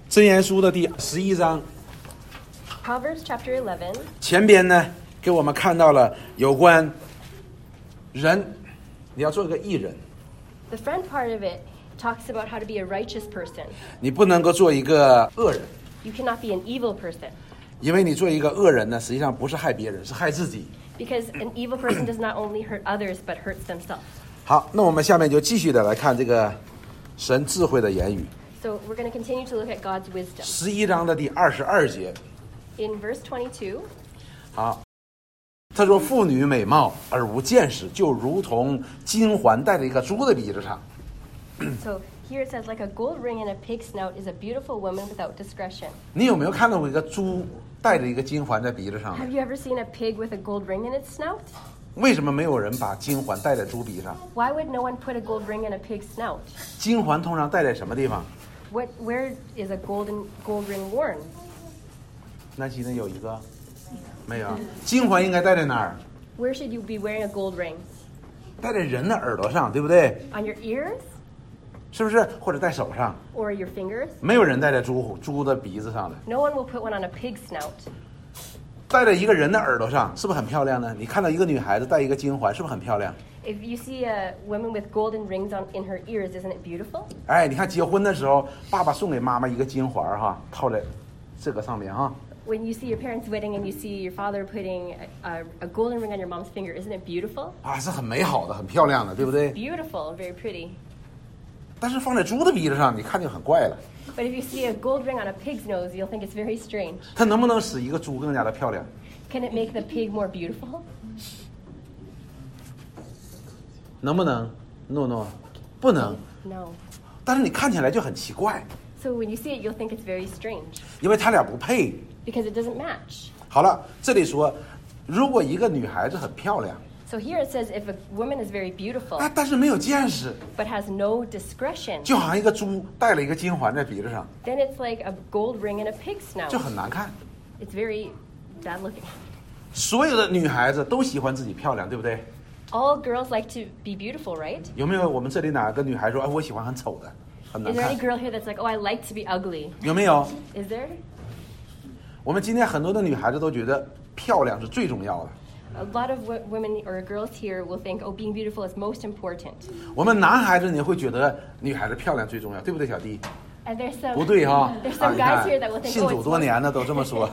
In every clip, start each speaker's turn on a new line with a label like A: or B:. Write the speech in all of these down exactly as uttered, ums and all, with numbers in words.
A: 箴言书的第十一章
B: Proverbs chapter eleven.
A: 前边呢给我们看到了有关人，你要做一个义人，
B: The front part of it talks about how to be a righteous person.
A: 你不能够做一个恶人，
B: You cannot be an evil person,
A: 因为你做一个恶人呢，实际上不是害别人，是害自己。
B: because an evil person does not only hurt others but hurts themselves.
A: 好，那我们下面就继续的来看这个神智慧的言语。
B: So we're going to continue to look at God's wisdom.
A: 十一章的第二十二节，
B: In verse twenty-two,
A: 好，他说：“妇女美貌而无见识，就如同金环戴在一个猪的鼻子上。”
B: so here it says, like a gold ring in a pig's snout is a beautiful woman without discretion.
A: 你有没有看到过一个猪戴着一个金环在鼻子上
B: Have
A: 的？
B: you ever seen a pig with a gold ring in its snout?
A: 为什么没有人把金环戴在猪鼻上？
B: Why would no one put a gold ring in a pig's snout?
A: 金环通常戴在什么地方？
B: What, where is a golden gold ring worn?
A: 南希呢有一个，没有。金环应该戴在哪儿？
B: Where should you be wearing a gold ring?
A: 戴在人的耳朵上，对不对？
B: On your ears
A: 是不是？或者戴手上？
B: or your fingers?
A: 没有人戴在猪猪的鼻子上的，
B: No one will put one on a pig's snout.
A: 戴在一个人的耳朵上，是不是很漂亮呢？你看到一个女孩子戴一个金环，是不是很漂亮？
B: If you see a woman with golden rings on in her ears, isn't it beautiful?
A: 哎，你看结婚的时候，爸爸送给妈妈一个金环哈，套在这个上面哈。
B: When you see your parents' wedding and you see your father putting a, a, a golden ring on your mom's finger, isn't it beautiful?
A: 啊，是很美好的，很漂亮的，对不对？
B: Beautiful, very pretty.
A: 但是放在猪的鼻子上，你看就很怪了。
B: But if you see a gold ring on a pig's nose, you'll think it's very strange.
A: 它能不能使一个猪更加的漂亮？
B: Can it make the pig more beautiful?
A: 能不能 ？No No， 不能。
B: No.
A: 但是你看起来就很奇怪，
B: So when you see it, you'll think it's very strange
A: 因为它俩不配。
B: because it doesn't match.
A: 好了，这里说，如果一个女孩子很漂亮，
B: So here it says if a woman is very beautiful
A: 啊，但是没有见识，
B: but has no discretion,
A: 就好像一个猪戴了一个金环在鼻子上，
B: then it's like a gold ring in a pig's
A: 就
B: snout.
A: 很难看。
B: It's very bad looking.
A: 所有的女孩子都喜欢自己漂亮，对不对？
B: All girls like to be beautiful, right?
A: 有没有我们这里哪个女孩说，哎，我喜欢很丑的，很难
B: Is there
A: 看
B: any？ girl here that's like, oh, I like to be ugly?
A: 有没有？
B: Is there?
A: 我们今天很多的女孩子都觉得漂亮是最重要的。
B: A lot of w- women or girls here will think, oh, being beautiful is most important.
A: 我们男孩子你会觉得女孩子漂亮最重要，对不对，小弟？
B: And there's some
A: 不对哈，
B: there's
A: 啊，
B: some
A: 你
B: guys
A: 看
B: here that will think,
A: 信
B: oh,
A: 主
B: it's
A: 多年的都这么说。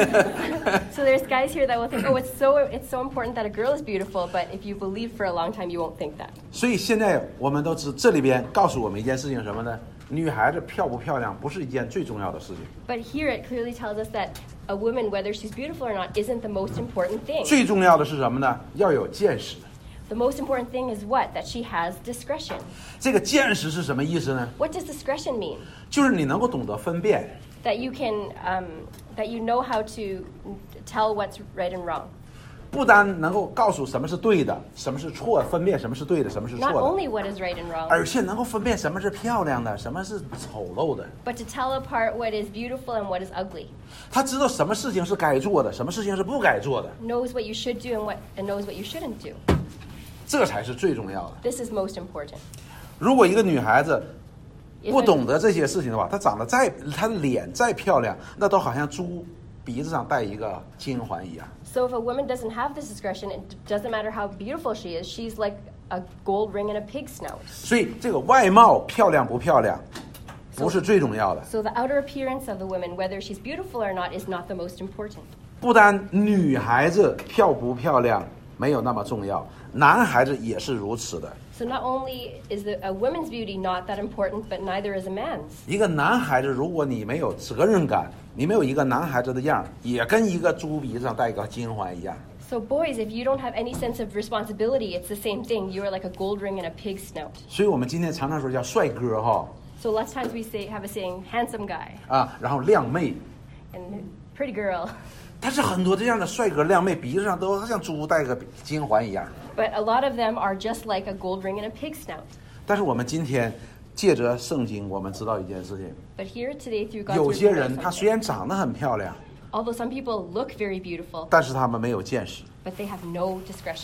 B: so there's guys here that will think, oh, it's so it's so important that a girl is beautiful, but if you believe for a long time, you won't think that.
A: 所以现在我们都知，这里边告诉我们一件事情什么呢？女孩子漂不漂亮不是一件最重要的事情，
B: But here it clearly tells us that a woman, whether she's beautiful or not, isn't the most important thing.
A: 最重要的是什么呢？要有见识。
B: The most important thing is what? That she has discretion.
A: 这个见识是什么意思呢？
B: What does discretion mean?
A: 就是你能够懂得分辨，
B: That you can, um, that you know how to tell what's right and wrong.
A: 不单能够告诉什么是对的，什么是错，分辨什么是对的，什么是
B: Not
A: 错的，
B: only what is right and wrong,
A: 而且能够分辨什么是漂亮的，什么是丑陋的。
B: but to tell apart what is beautiful and what is ugly.
A: 他知道什么事情是该做的，什么事情是不该做的，
B: Knows what you should do and what and knows what you shouldn't do.
A: 这才是最重要的。
B: This is most important.
A: 如果一个女孩子
B: If
A: 不
B: a-
A: 懂得这些事情的话，她长得再，她的脸再漂亮，那都好像猪鼻子上戴一个金环一样。
B: So if a woman doesn't have this discretion, it doesn't matter how beautiful she is, she's like a gold ring in a pig's snout.
A: 所以这个外貌漂亮不漂亮，不是最重要的。
B: So the outer appearance of the woman, whether she's beautiful or not, is not the most important.
A: 不单女孩子漂不漂亮没有那么重要，男孩子也是如此的。
B: So not only is the, a woman's beauty not that important, but neither is a man's.
A: 一个男孩子，如果你没有责任感，你没有一个男孩子的样儿，也跟一个猪鼻子上戴一个金环一样。
B: So boys, if you don't have any sense of responsibility, it's the same thing. You are like a gold ring in a pig's snout.
A: 所以我们今天常常说叫帅哥哈
B: So lots of times we say have a saying, handsome guy
A: 啊，然后靓妹，
B: and pretty girl.
A: 但是很多这样的帅哥靓妹鼻子上都像猪戴个金环一样。
B: But a lot of them are just like a gold ring in a pig's snout.
A: 但是我们今天借着圣经，我们知道一件事情，
B: But here today through God's
A: 有
B: word,
A: 些
B: we know
A: 人他
B: something.
A: 虽然长得很漂亮，
B: Although some people look very beautiful,
A: 但是他们没有见识。
B: but they have no discretion.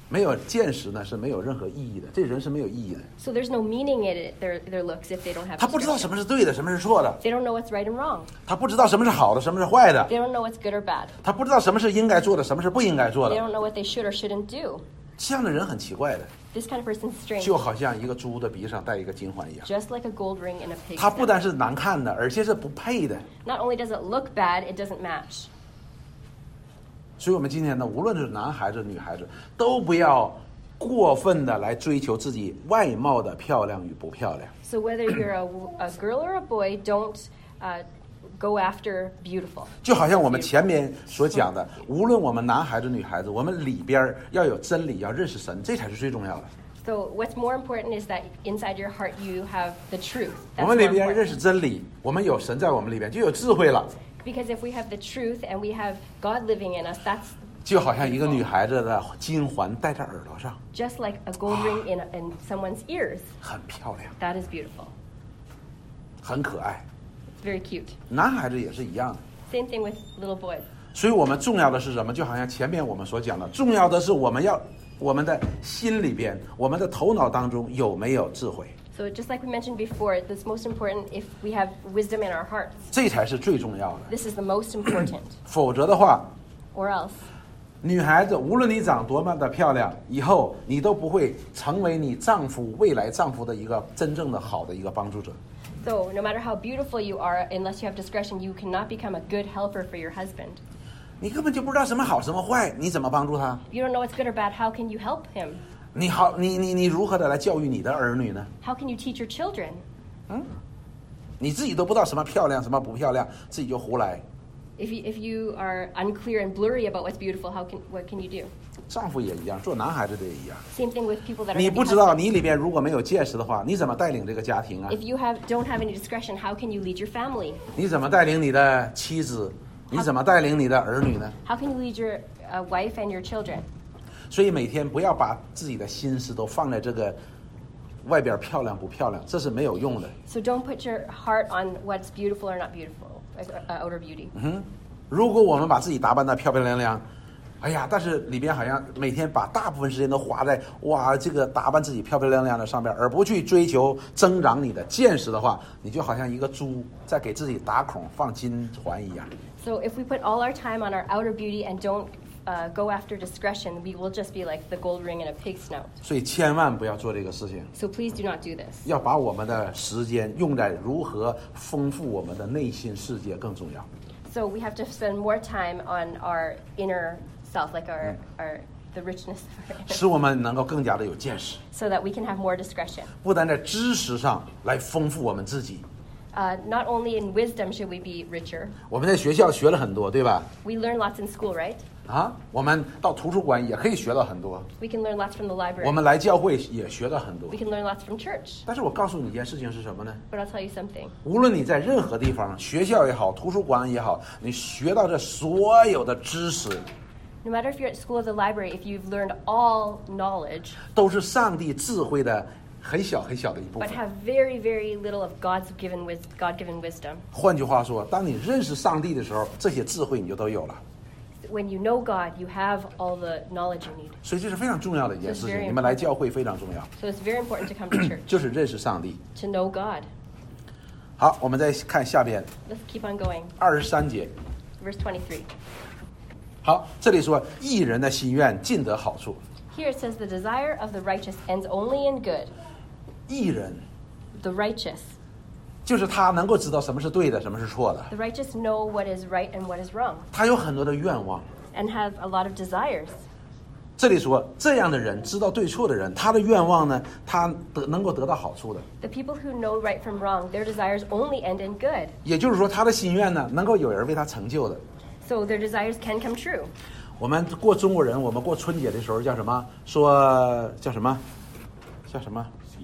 A: 没有见识呢是没有任何意义的，这人是没有意义的。
B: So there's no meaning in it, their, their looks if they don't have
A: 他不知道
B: discretion.
A: 什么是对的，什么是错的，
B: They don't know what's right and wrong.
A: 他不知道什么是好的，什么是坏的，
B: They don't know what's good or bad.
A: 他不知道什么是应该做的，什么是不应该做
B: They
A: 的。
B: don't know what they should or shouldn't do.
A: 这样的人很奇怪的，
B: This kind of person's strange.
A: 就好像一个猪的鼻上戴一个金环一样。
B: Just like a gold ring in a pig's
A: 他不
B: snout.
A: 单是难看的，而且是不配的。
B: Not only does it look bad, it doesn't match.
A: 所以我们今天呢，无论是男孩子、女孩子，都不要过分的来追求自己外貌的漂亮与不漂亮。
B: So whether you're a, a girl or a boy, don't uh, go after beautiful.
A: 就好像我们前面所讲的，无论我们男孩子、女孩子，我们里边要有真理，要认识神，这才是最重要的。
B: So what's more important is that inside your heart you have the truth.
A: 我
B: That's
A: 们里
B: more
A: 边认
B: important.
A: 识真理，我们有神在我们里边，就有智慧了。
B: Because if we have the truth and we have God living in us, that's
A: 就好像一个女孩子的金环戴在耳朵上，
B: just like a gold ring in, in someone's ears.
A: 很漂亮，
B: That is beautiful.
A: 很可爱。
B: It's very cute.
A: 男孩子也是一样的。
B: Same thing with little boys.
A: 所以我们重要的是什么？就好像前面我们所讲的，重要的是我们要我们的心里边，我们的头脑当中有没有智慧，
B: So just like we mentioned before, it's most important if we have wisdom in our hearts.
A: 这才是最重要的。
B: This is the most important.
A: 否则的话，
B: Or else,
A: 女孩子无论你长多么的漂亮，以后你都不会成为你丈夫未来丈夫的一个真正的好的一个帮助者。
B: so no matter how beautiful you are, unless you have discretion, you cannot become a good helper for your husband.
A: 你根本就不知道什么好什么坏，你怎么帮助他？
B: If you don't know what's good or bad, how can you help him?
A: 你好，你你你如何的来教育你的儿女呢？
B: How can you teach your children?
A: 你自己都不知道什么漂亮什么不漂亮，自己就胡来。
B: If you, if you are unclear and blurry about what's beautiful, how can what can you do?
A: 丈夫也一样，做男孩子的也一样。
B: Same thing with people that are
A: 你
B: gonna
A: 不
B: be
A: 知道
B: husbands.
A: 你里边如果没有见识的话，你怎么带领这个家庭啊？
B: If you have don't have any discretion, how can you lead your family?
A: 你怎么带领你的妻子？你怎么带领你的儿女呢？
B: How can you lead your uh, wife and your children?
A: 所以每天不要把自己的心思都放在这个外边漂亮不漂亮，这是没有用的。
B: So don't put your heart on what's beautiful or not beautiful, like uh, outer beauty.
A: 如果我们把自己打扮得漂漂亮亮，哎呀，但是里边好像每天把大部分时间都花在哇这个打扮自己漂漂亮亮的上边，而不去追求增长你的见识的话，你就好像一个猪在给自己打孔放金环一样。
B: So if we put all our time on our outer beauty and don't uh, go after discretion, we will just be like the gold ring in a pig's snout.
A: 所以千万不要做这个事情，
B: So please do not do this.
A: 要把我们的时间用在如何丰富我们的内心世界更重要。
B: So we have to spend more time on our inner self, like our, our the richness of our inner,
A: 使我们能够更加的有见识，
B: so that we can have more discretion.
A: 不但在知识上来丰富我们自己。
B: Uh, not only in wisdom should we be richer.
A: 我们在学校学了很多，对吧？
B: We learn lots in school, right?
A: 啊，我们到图书馆也可以学到很多，
B: We can learn lots from the
A: 我
B: library.
A: 们来教会也学到很多
B: We。can learn lots from church.
A: 但是我告诉你一件事情是什么呢？
B: But I'll tell you something.
A: 无论你在任何地方，学校也好，图书馆也好，你学到这所有的知识，
B: No matter if you're at school or the library, if you've learned all knowledge,
A: 都是上帝智慧的很小很小的一部
B: but
A: 分。
B: have very, very little of God's given wis- God-given wisdom.
A: 换句话说，当你认识上帝的时候，这些智慧你就都有了。
B: When you know God, you have all the knowledge you need.
A: 所以这是非常重要的一件事
B: It's very
A: 情。你们来教会非常重要，
B: So it's very important to come to church,
A: 就是认识上帝。
B: to know God.
A: 好，我们再看下边
B: Let's keep on going.
A: 二十三节。
B: Verse twenty-three.
A: 好，这里说义人的心愿尽得好处。
B: Here it says, the desire of the righteous ends only in good.
A: 义人
B: The righteous.
A: 就是他能够知道什么是对的，什么是错的。
B: The righteous know what is right and what is wrong,
A: 他有很多的愿望。
B: and have a lot of desires.
A: 这里说这样的人知道对错的人，他的愿望呢，他得能够得到好处的。
B: The people who know right from wrong, their desires only end in good.
A: 也就是说，他的心愿呢，能够有人为他成就的。
B: So their desires can come true.
A: 我们过中国人，我们过春节的时候叫什么？说叫什么？叫什么？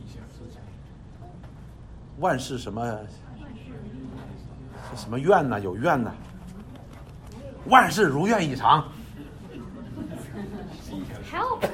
A: 万事什么？什么愿呢？有愿呢？万事如愿以偿。
B: Help!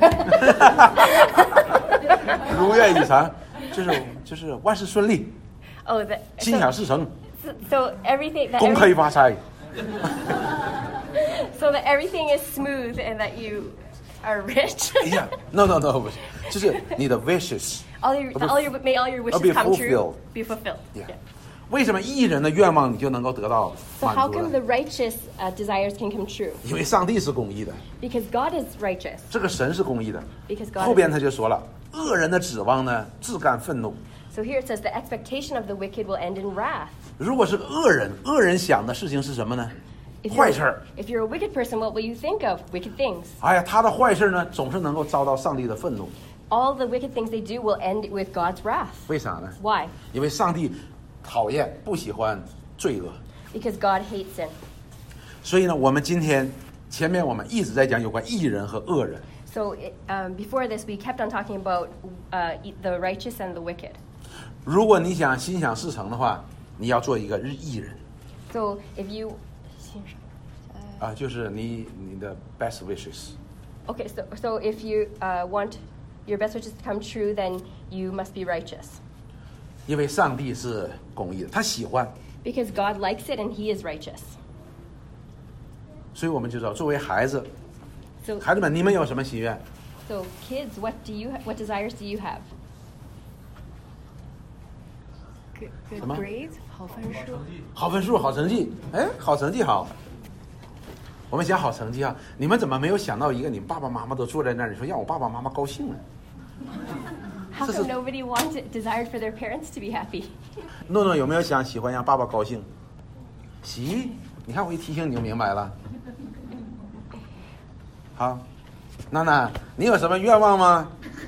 A: 如愿以偿，就是就是万事顺利，
B: Oh, the,
A: 心
B: so,
A: 想事成，
B: so, so everything that
A: 恭
B: every,
A: 喜发财。
B: so that everything is smooth and that you are rich.
A: 哎呀 ，no no no，不是，就是你的 wishes。
B: all your,
A: Be-
B: all your, may all your wishes
A: be
B: come
A: fulfilled.
B: true. Be fulfilled.
A: Yeah.
B: Yeah.
A: 为什么义人的愿望你就能够得到
B: So
A: 满
B: how
A: 足
B: come
A: 呢？
B: the righteous uh, desires can come true?
A: 因为上帝是公义的，
B: Because God is righteous.
A: 这个神是公义的。
B: Because God
A: 后边
B: is...
A: 他就说了，恶人的指望呢，自甘愤怒。
B: So here it says the expectation of the wicked will end in wrath.
A: 如果是个恶人，恶人想的事情是什么呢？
B: If
A: 坏
B: you're,
A: 事儿。
B: if you're a wicked person, what will you think of? Wicked things.
A: 哎呀，他的坏事呢，总是能够遭到上帝的愤怒。
B: All the wicked things they do will end with God's wrath.
A: 为啥呢？
B: Why?
A: 因为上帝讨厌、不喜欢罪恶。
B: Because God hates sin.
A: 所以呢，我们今天前面我们一直在讲有关义人和恶人。
B: So it, um, before this, we kept on talking about uh, the righteous and the wicked.
A: 如果你想心想事成的话，你要做一个义人
B: So if you...
A: 啊，就是你你的 best wishes。
B: Okay, so, so if you uh, want your best wishes to come true, then you must be righteous.
A: 因为上帝是公义的，他喜欢，
B: Because God likes it and He is righteous.
A: 所以我们就知道，作为孩子，
B: So,
A: 孩子们，你们有什么心愿？
B: so kids, what do you ha- what desires do you have?
C: Good, good
A: 什么？
C: grades, 好分数。
A: 好分数，好成绩。哎，好成绩好。我们想好成绩啊，你们怎么没有想到一个？你爸爸妈妈都坐在那儿，你说让我爸爸妈妈高兴呢？
B: How
A: This
B: come
A: is-
B: nobody wanted desired for their parents to be happy?
A: 诺诺有没有想喜欢让爸爸高兴？喜，你看我一提醒你就明白了。好，娜娜，你有什么愿望吗？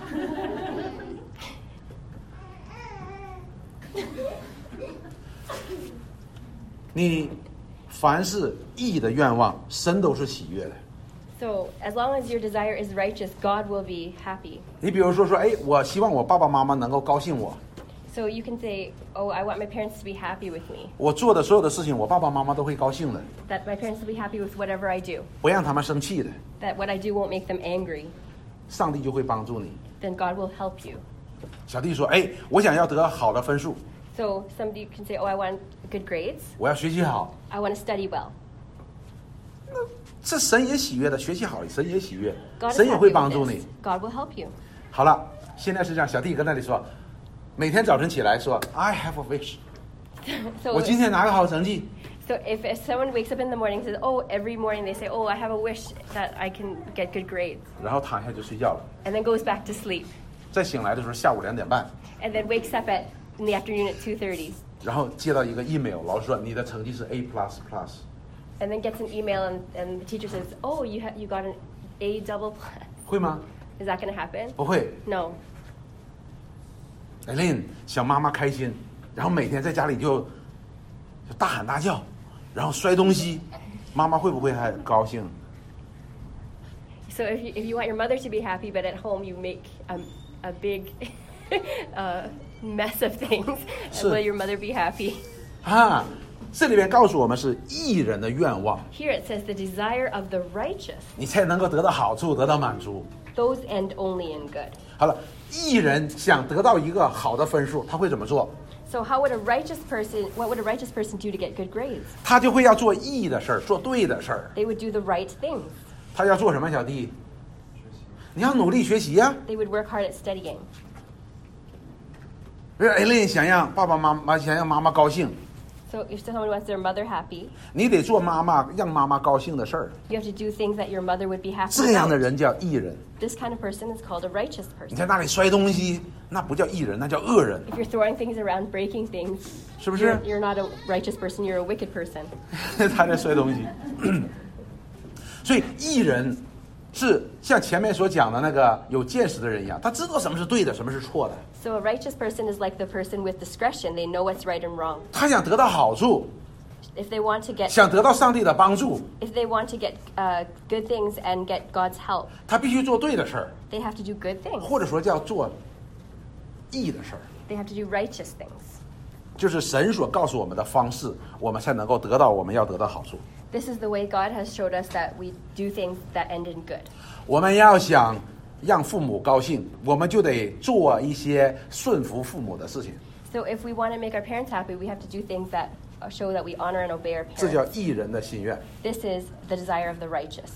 A: 你凡是义的愿望，神都是喜悦的。
B: So as long as your desire is righteous, God will be happy.
A: 你比如说说，哎，我希望我爸爸妈妈能够高兴我，
B: So you can say, "Oh, I want my parents to be happy with me.
A: 我做的所有的事情，我爸爸妈妈都会高兴的，
B: That my parents will be happy with whatever I do.
A: 不让他们生气的，
B: That what I do won't make them angry.
A: 上帝就会帮助你。
B: Then God will help you."
A: 小弟说，哎，我想要得好的分数，
B: So somebody can say, "Oh, I want good grades.
A: 我要学习好，
B: I want to study well."
A: 这神也喜悦的，学习好，神也喜悦，
B: God is
A: 神也会
B: happy
A: 帮
B: with
A: 助
B: this.
A: 你。
B: God will help you.
A: 好了，现在是这样，小弟跟那里说，每天早晨起来说 ，I have a wish，
B: So
A: 我今天拿个好成绩。
B: So if, if someone wakes up in the morning and says, "Oh," every morning they say, "Oh, I have a wish that I can get good grades,"
A: 然后躺下就睡觉了，
B: and then goes back to sleep,
A: 再醒来的时候下午两点半，
B: and then wakes up at in the afternoon at two thirty,
A: 然后接到一个 email，老师说你的成绩是 A plus plus，
B: and then gets an email and, and the teacher says, "Oh, you ha- you got an A double plus."
A: 会吗？
B: Is that going to happen?
A: 不会。
B: No.
A: Eileen 想妈妈开心，然后每天在家里就就大喊大叫，然后摔东西，妈妈会不会还高兴？
B: So if you, if you want your mother to be happy, but at home you make um, a big uh, mess of things,
A: So-
B: will your mother be happy?
A: 啊，这里面告诉我们是义人的愿望，
B: Here it says the desire of the righteous.
A: 你才能够得到好处，得到满足。
B: Those end only in good.
A: 好了，义人想得到一个好的分数，他会怎么做？
B: So how would a righteous person, what would a righteous person do to get good grades?
A: 他就会要做义的事儿，做对的事儿。
B: They would do the right things.
A: 他要做什么，小弟？你要努力学习呀、
B: They would work hard at studying.
A: 比如 Eileen 想让爸爸妈妈想让妈妈高兴，
B: So if someone wants their mother happy,
A: 你得做妈妈让妈妈高兴的事儿。
B: you have to do things that your mother would be happy
A: 这样的
B: about.
A: 人叫义人。
B: This kind of person is called a righteous
A: 你
B: person.
A: 在那里摔东西，那不叫义人，那叫恶人，
B: If you're throwing things around, breaking things,
A: 是不是
B: you're,？you're not a righteous person, you're a wicked person.
A: 他在摔东西。所以义人是像前面所讲的那个有见识的人一样，他知道什么是对的，什么是错的。
B: So a righteous person is like the person with discretion. They know what's right and wrong.
A: 他想得到好处，
B: If they want to get,
A: 想得到上帝的帮助，
B: if they want to get uh, good things and get God's help,
A: 他必须做对的事儿，
B: they have to do good things.
A: 或者说叫做义的事儿。
B: They have to do righteous things.
A: 就是神所告诉我们的方式，我们才能够得到我们要得到好处。
B: This is the way God has showed us that we do things that end in good.
A: 我们要想让父母高兴，我们就得做一些顺服父母的事情，
B: So if we want to make our parents happy, we have to do things that uh, show that we honor and obey our
A: 这叫
B: parents.
A: 义人的心愿。
B: This is the desire of the righteous.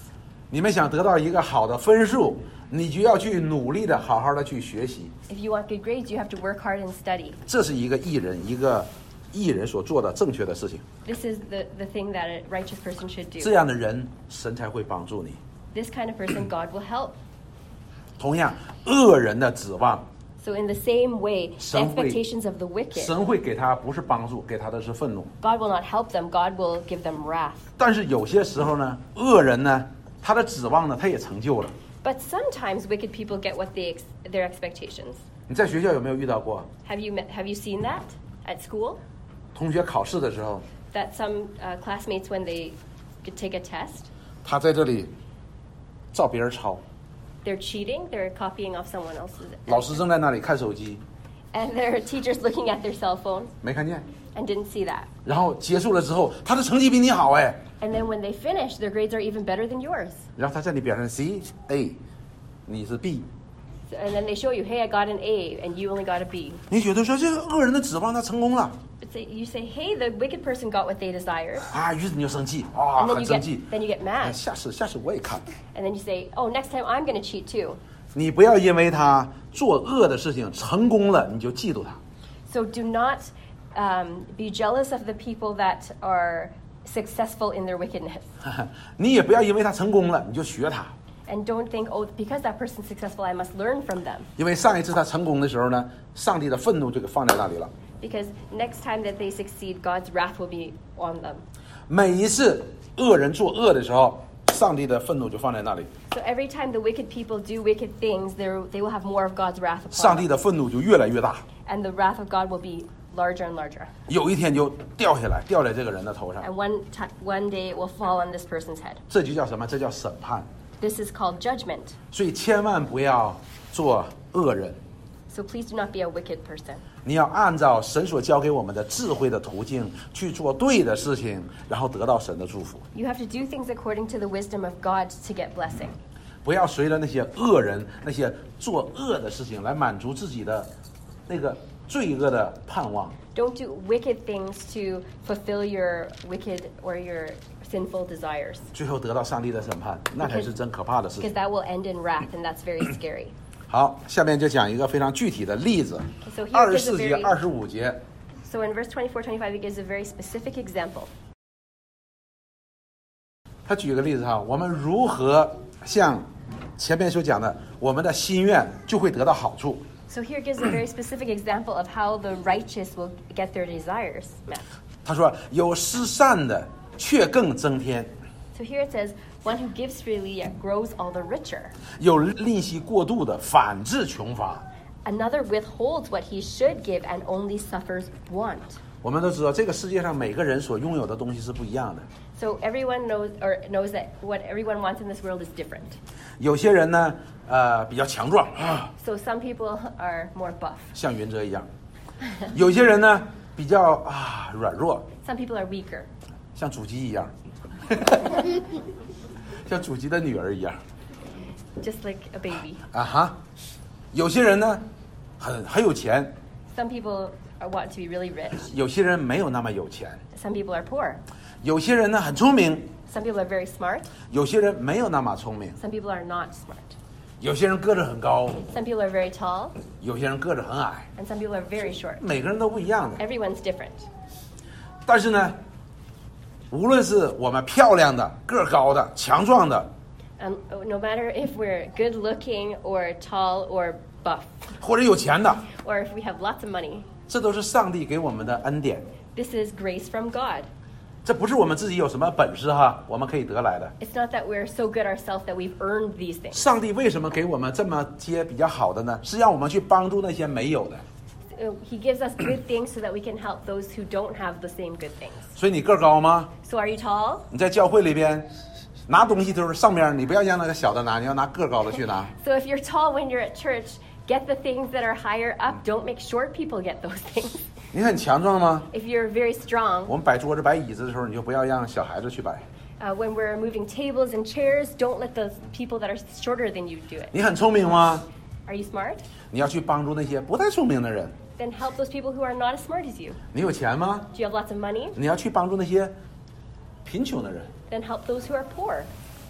A: 你们想得到一个好的分数，你就要去努力的好好的去学习。
B: If you want good grades, you have to work hard and study.
A: 这是一个艺人，一个艺人所做的正确的事情。
B: This is the, the thing that a righteous person should
A: 这
B: do.
A: 样的人，神才会帮助你。
B: This kind of person, God will help.
A: 同样，恶人的指望，
B: So in the same way, the
A: 神会-
B: expectations of the wicked,
A: 神会给他不是帮助，给他的是愤怒。
B: God will not help them. God will give them wrath.
A: 但是有些时候呢，恶人呢，他的指望呢，他也成就了。
B: But sometimes wicked people get what they ex- their expectations.
A: 你在学校有没有遇到过
B: Have you met, have you seen that at school?
A: 同学考试的时候，
B: That some uh, classmates, when they could take a test,
A: 他在这里照别人抄，
B: they're cheating. They're copying off someone else's,
A: 老师正在那里看手机，
B: and their teacher's looking at their cell phone
A: 没看见。
B: and didn't see that.
A: 然后结束了之后，他的成绩比你好哎，
B: And then when they finish, their grades are even better than yours.
A: 然后他在你表上 C A， 你是 B，
B: So, and then they show you, hey, I got an A, and you only got a B.
A: 你觉得说这个恶人的指望他成功了
B: But say, you say, hey, the wicked person got what they desired,
A: 啊，于是你就生气啊，
B: and then
A: 很
B: you
A: 生
B: get
A: 气。
B: then you get
A: 哎
B: mad,
A: 下次下次我也看。
B: and then you say, oh, next time I'm going to cheat too.
A: 你不要因为他做恶的事情成功了，你就嫉妒他。
B: So do not um, be jealous of the people that are successful in their wickedness.
A: 你也不要因为他成功了，你就学他。
B: And don't think, oh, because that person's successful, I must learn from them.
A: 因为上一次他成功的时候呢，上帝的愤怒就给放在那里了。
B: Because next time that they succeed, God's wrath will be on them.
A: 每一次恶人做恶的时候，上帝的愤怒就放在那里，
B: So every time the wicked people do wicked things, there- they will have more of God's wrath
A: 上
B: upon
A: 帝
B: them.
A: 的愤怒就越来越大。
B: And the wrath of God will be larger and larger.
A: 有一天就掉下来，掉在这个人的头上，
B: And one, ti one day it will fall on this person's head.
A: 这就叫什么？这叫审判。
B: This is called judgment.
A: 所以千万不要做恶人，
B: So please do not be a wicked person.
A: 你要按照神所教给我们的智慧的途径去做对的事情，然后得到神的祝福。
B: You have to do things according to the wisdom of God to get blessing.
A: 不要随着那些恶人、那些做恶的事情来满足自己的那个罪恶的盼望。
B: Don't do wicked things to fulfill your wicked or your sinful desires.
A: 最后得到上帝的审判，那才是真可怕的事
B: Because
A: 情。
B: that will end in wrath, and that's very scary.
A: 好，下面就讲一个非常具体的例子
B: So，here，
A: 二十
B: is a
A: 四节、
B: very-
A: 二十五节，
B: So in verse twenty-four, twenty-five, it gives a very specific example.
A: 他举个例子哈，我们如何像前面所讲的，我们的心愿就会得到好处。
B: So here gives a very specific example of how the righteous will get their desires met.
A: 他说：“有施善的，却更增添；
B: So here it says, one who gives freely yet grows all the richer.
A: 有吝惜过度的，反致穷乏。”
B: Another withholds what he should give and only suffers want.
A: 我们都知道，这个世界上每个人所拥有的东西是不一样的。
B: So everyone knows or knows that what everyone wants in this world is different.
A: 有些人呢，呃，比较强壮啊，
B: So some people are more buff.
A: 像云哲一样；有些人呢，比较啊软弱，
B: Some people are weaker.
A: 像祖基一样，像祖基的女儿一样
B: Just like a baby.
A: 啊哈。有些人呢，很很有钱，
B: Some people are, want to be really rich.
A: 有些人没有那么有钱；
B: Some people are poor.
A: 有些人呢很聪明，
B: Some people are very smart.
A: 有些人没有那么聪明；
B: Some people are not smart.
A: 有些人个子很高，
B: Some people are very tall.
A: 有些人个子很矮，
B: And some people are very short.
A: 每个人都不一样的。
B: Everyone's different.
A: 但是呢，无论是我们漂亮的、个儿高的、强壮的，
B: Um, no matter if we're good looking or tall or buff,
A: 或者有钱的，
B: or if we have lots of money,
A: 这都是上帝给我们的恩典。
B: this is grace from God.
A: 这不是我们自己有什么本事哈，我们可以得来的。
B: It's not that we're so good ourselves that we've earned these things.
A: 上帝为什么给我们这么些比较好的呢？是让我们去帮助那些没有的。
B: Uh, He gives us good things so that we can help those who don't have the same good things.
A: 所以你个儿高吗？
B: So are you tall?
A: 你在教会里边拿东西都是上面，你不要让那个小的拿，你要拿个儿高的去拿。
B: So if you're tall when you're at church, get the things that are higher up. Don't make short people get those things.
A: 你很强壮吗？
B: If you're very strong,
A: 我们摆桌子摆椅子的时候，你就不要让小孩子去摆。
B: uh, when we're moving tables and chairs, don't let the people that are shorter than you do it.
A: 你很聪明吗？
B: Are you smart?
A: 你要去帮助那些不太聪明的人。
B: Then help those people who are not as smart as you.
A: 你有钱吗？
B: Do you have lots of money?
A: 你要去帮助那些贫穷的人。
B: Then help those who are poor.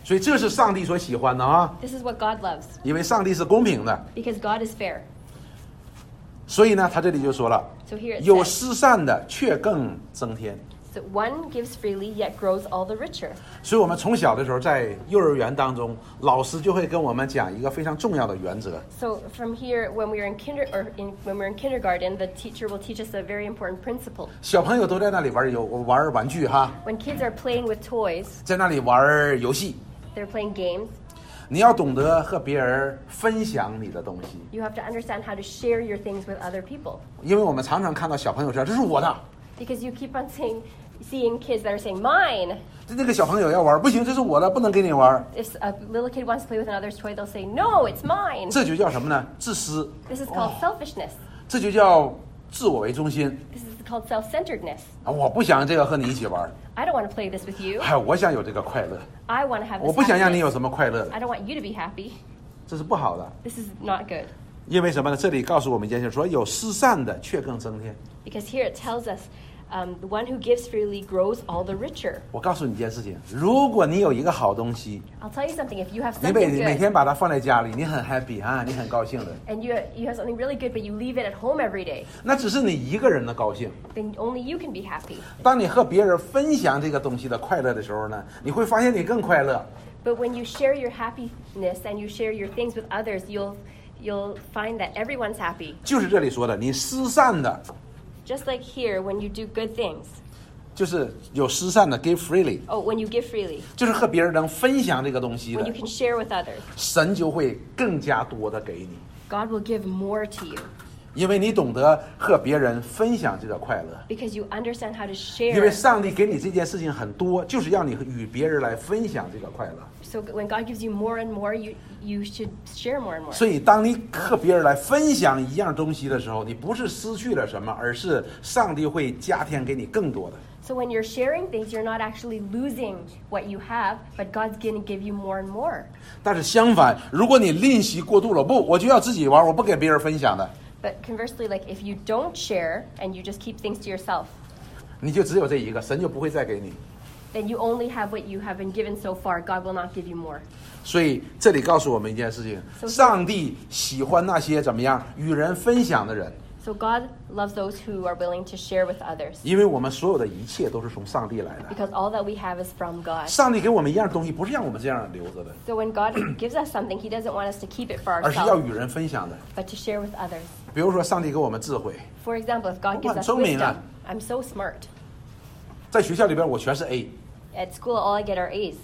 A: 所以这是上帝所喜欢的啊，
B: This is what God loves
A: 因为上帝是公平的。
B: because God is fair.
A: 所以呢，他这里就说了，
B: So here it
A: 有
B: says,
A: 施善的却更增添。
B: so one gives freely yet grows all the richer.
A: 所以我们从小的时候在幼儿园当中，老师就会跟我们讲一个非常重要的原则。
B: So from here, when we are in kinder or in, when we're in kindergarten, the teacher will teach us a very important principle.
A: 小朋友都在那里玩游玩玩具哈，
B: When kids are playing with toys,
A: 在那里玩游戏，
B: they're playing games.
A: 你要懂得和别人分享你的东西，
B: You have to understand how to share your things with other people
A: 因为我们常常看到小朋友说这是我的，
B: because you keep on saying, seeing kids that are saying mine.
A: 这个小朋友要玩不行，这是我的，不能给你玩，
B: If a little kid wants to play with another's toy, they'll say, no, it's mine.
A: 这就叫什么呢？自私，
B: This is called selfishness.
A: 这就叫自我为中心
B: This is called self-centeredness.
A: 啊！我不想这个和你一起玩，
B: I don't want to play this with you.
A: 哎，我想有这个快乐，
B: I want to have
A: 我
B: this
A: 不想让你
B: happiness.
A: 有什么快乐的，
B: I don't want you to be happy.
A: 这是不好的。
B: This is not good.
A: 因为什么呢？这里告诉我们一件事，说有施善的却更增添。
B: Because here it tells us, um, the one who gives freely grows all the richer.
A: 我告诉你一件事情，如果你有一个好东西，
B: I'll tell you something. If you have
A: 你每
B: something
A: 每
B: good
A: 天把它放在家里，你很 happy 啊，你很高兴的，
B: and you you have something really good, but you leave it at home every day,
A: 那只是你一个人的高兴。
B: then only you can be happy.
A: 当你和别人分享这个东西的快乐的时候呢，你会发现你更快乐。
B: But when you share your happiness and you share your things with others, you'll you'll find that everyone's happy.
A: 就是这里说的，你施善的，
B: Just like here, when you do good things.
A: 就是有施善的 give freely，
B: Oh, when you give freely,
A: 就是和别人能分享这个东西
B: when
A: 的
B: you，can share with others,
A: 神就会更加多的给你，
B: God will give more to you
A: 因为你懂得和别人分享这个快乐。
B: because you understand how to
A: 因为
B: share.
A: 上帝给你这件事情很多，就是要你与别人来分享这个快乐。
B: So when God gives you more and more, you you should share more and more.
A: 所以，当你和别人来分享一样东西的时候，你不是失去了什么，而是上帝会加添给你更多的。
B: So when you're sharing things, you're not actually losing what you have, but God's going to give you more and more.
A: 但是相反，如果你吝惜过度了，不，我就要自己玩，我不给别人分享的，
B: But conversely, like if you don't share and you just keep things to yourself,
A: 你就只有这一个，神就不会再给你。
B: then you only have what you have been given so far. God will not give you more.
A: 所以这里告诉我们一件事情：
B: So-
A: 上帝喜欢那些怎么样与人分享的人，
B: So God loves those who are willing to share with others
A: 因为我们所有的一切都是从上帝来的。
B: because all that we have is from God.
A: 上帝给我们一样东西，不是让我们这样留着的，
B: So when God gives us something, He doesn't want us to keep it for
A: 而是要
B: ourselves,
A: 与人分享的。
B: but to share with others.
A: 比如说，上帝给我们智慧，
B: For example, if God gives us
A: 我很聪明啊。
B: wisdom, I'm so smart.
A: 在学校里边我全是 A，
B: At school, all I get are A's.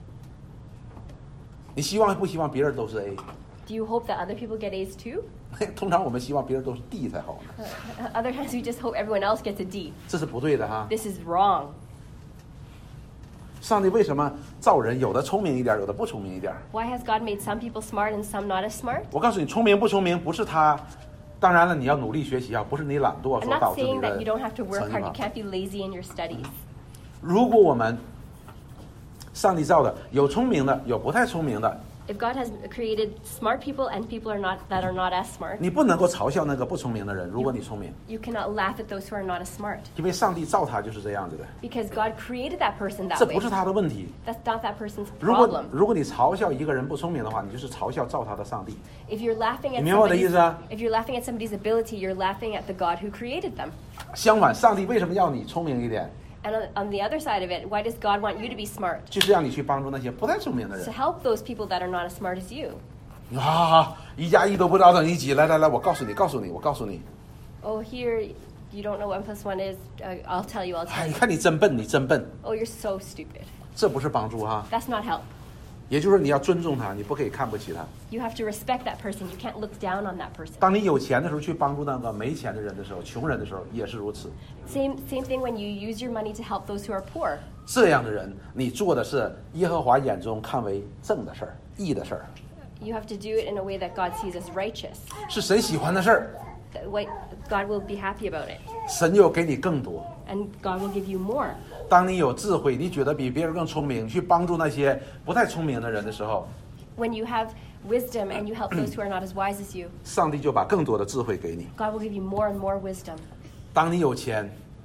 A: 你希望不希望别人都是 A？
B: Do you hope that other people get A's too?
A: 通常我们希望别人都是 D 才好呢，
B: Uh, Other times, we just hope everyone else gets a D.
A: 这是不对的哈。
B: This is wrong.
A: 上帝为什么造人有的聪明一点，有的不聪明一点？
B: Why has God made some people smart and some not as smart?
A: 我告诉你，聪明不聪明不是他，当然了，你要努力学习啊，不是你懒惰
B: I'm
A: 所导
B: not
A: 致你
B: saying
A: 的
B: that you don't have to work
A: 成绩
B: hard.
A: 嘛
B: You can't be lazy in your studies.
A: 如果我们上帝造的有聪明的，有不太聪明的，
B: If God has created smart people and people are not that are not as smart,
A: 你不能够嘲笑那个不聪明的人。如果你聪明，
B: you cannot laugh at those who are not as smart
A: 因为上帝造他就是这样子的，
B: because God created that person
A: 这
B: that
A: 不是
B: way.
A: 他的问题。
B: That's not that person's
A: 如果
B: problem.
A: 如果你嘲笑一个人不聪明的话，你就是嘲笑造他的上帝。
B: If you're laughing at
A: 你明白我的意
B: somebody's,
A: 思啊？
B: if you're laughing at somebody's ability, you're laughing at the God who created them.
A: 相反，上帝为什么要你聪明一点？
B: And on, on the other side of it, why does God want you to be smart?
A: 就是让你去帮助那些不太聪明的
B: To
A: 人
B: help those people that are not as smart as you.
A: 啊！一加一都不知道等于几？来来来，我告诉你，告诉你，我告诉你。
B: Oh, here you don't know one plus one is. Uh, I'll tell you. I'll
A: 哎，
B: tell
A: 你
B: you.
A: 看你真笨，你真笨，
B: Oh, you're so stupid.
A: 这不是帮助哈。
B: That's not help.
A: 也就是说，你要尊重他，你不可以看不起他。
B: You have to respect that person. You can't look down on that person.
A: 当你有钱的时候，去帮助那个没钱的人的时候，穷人的时候也是如此。
B: Same same thing when you use your money to help those who are poor.
A: 这样的人，你做的是耶和华眼中看为正的事儿、义的事儿，
B: You have to do it in a way that God sees as righteous.
A: 是神喜欢的事儿，
B: That way God will be happy about it.
A: 神又给你更多。
B: And God will give you more.
A: 当你有智慧，你觉得比别人更聪明，去帮助那些不太聪明的人的时候，
B: When you have wisdom and you help those who are not as wise as you,
A: 上帝就把更多的智慧给你。
B: God will give you more and more wisdom.
A: 当你有钱，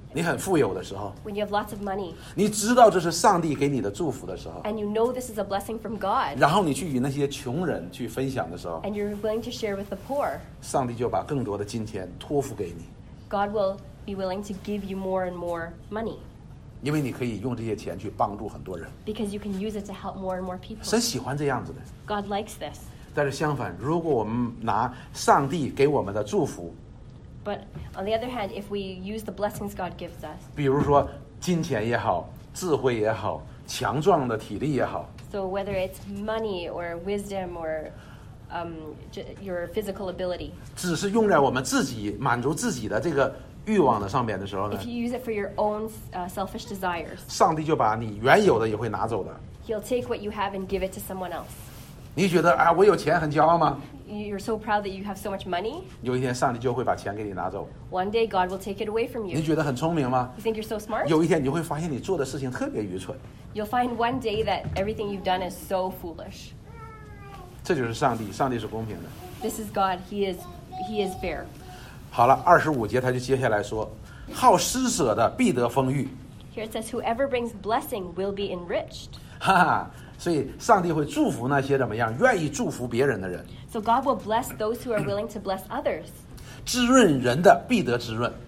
A: 你很富有的时候，
B: when you have lots of money,
A: 你知道这是上帝给你的祝福的时候，
B: and you know this is a blessing from God,
A: 然后你去与那些穷人去分享的时候，
B: and you're willing to share with the poor,
A: 上帝就把更多的金钱托付给你，
B: God will be willing to give you more and more money
A: 因为你可以用这些钱去帮助很多人。
B: because you can use it to help more and more people.
A: 神喜欢这样子的。
B: God likes this.
A: 但是相反，如果我们拿上帝给我们的祝福，
B: But on the other hand, if we use the blessings God gives us,
A: 比如说金钱也好，智慧也好，强壮的体力也好，
B: so whether it's money or wisdom or um, j- your physical ability,
A: 只是用在我们自己满足自己的这个欲望的上面的时候呢
B: if，you use it for your own uh, selfish desires,
A: 上帝就把你原有的也会拿走的。
B: He'll take what you have and give it to someone else.
A: 你觉得啊，我有钱很骄傲吗？
B: You're so proud that you have so much money.
A: 有一天上帝就会把钱给你拿走。
B: One day God will take it away from
A: 你
B: you.
A: 觉得很聪明吗？
B: You think you're so smart?
A: 有一天你就会发现你做的事情特别愚蠢。
B: You'll find one day that everything you've done is so foolish.
A: 这就是上帝，上帝是公平的。
B: This is God. He is He is fair.
A: 好了，二十五节他就接下来说，好施舍的必得丰裕，
B: Here it says, whoever brings blessing will be enriched.
A: 哈哈。所以上帝会祝福那些怎么样愿意祝福别人的人，
B: So God will bless those who are willing to bless others.
A: 滋润人的必得滋润。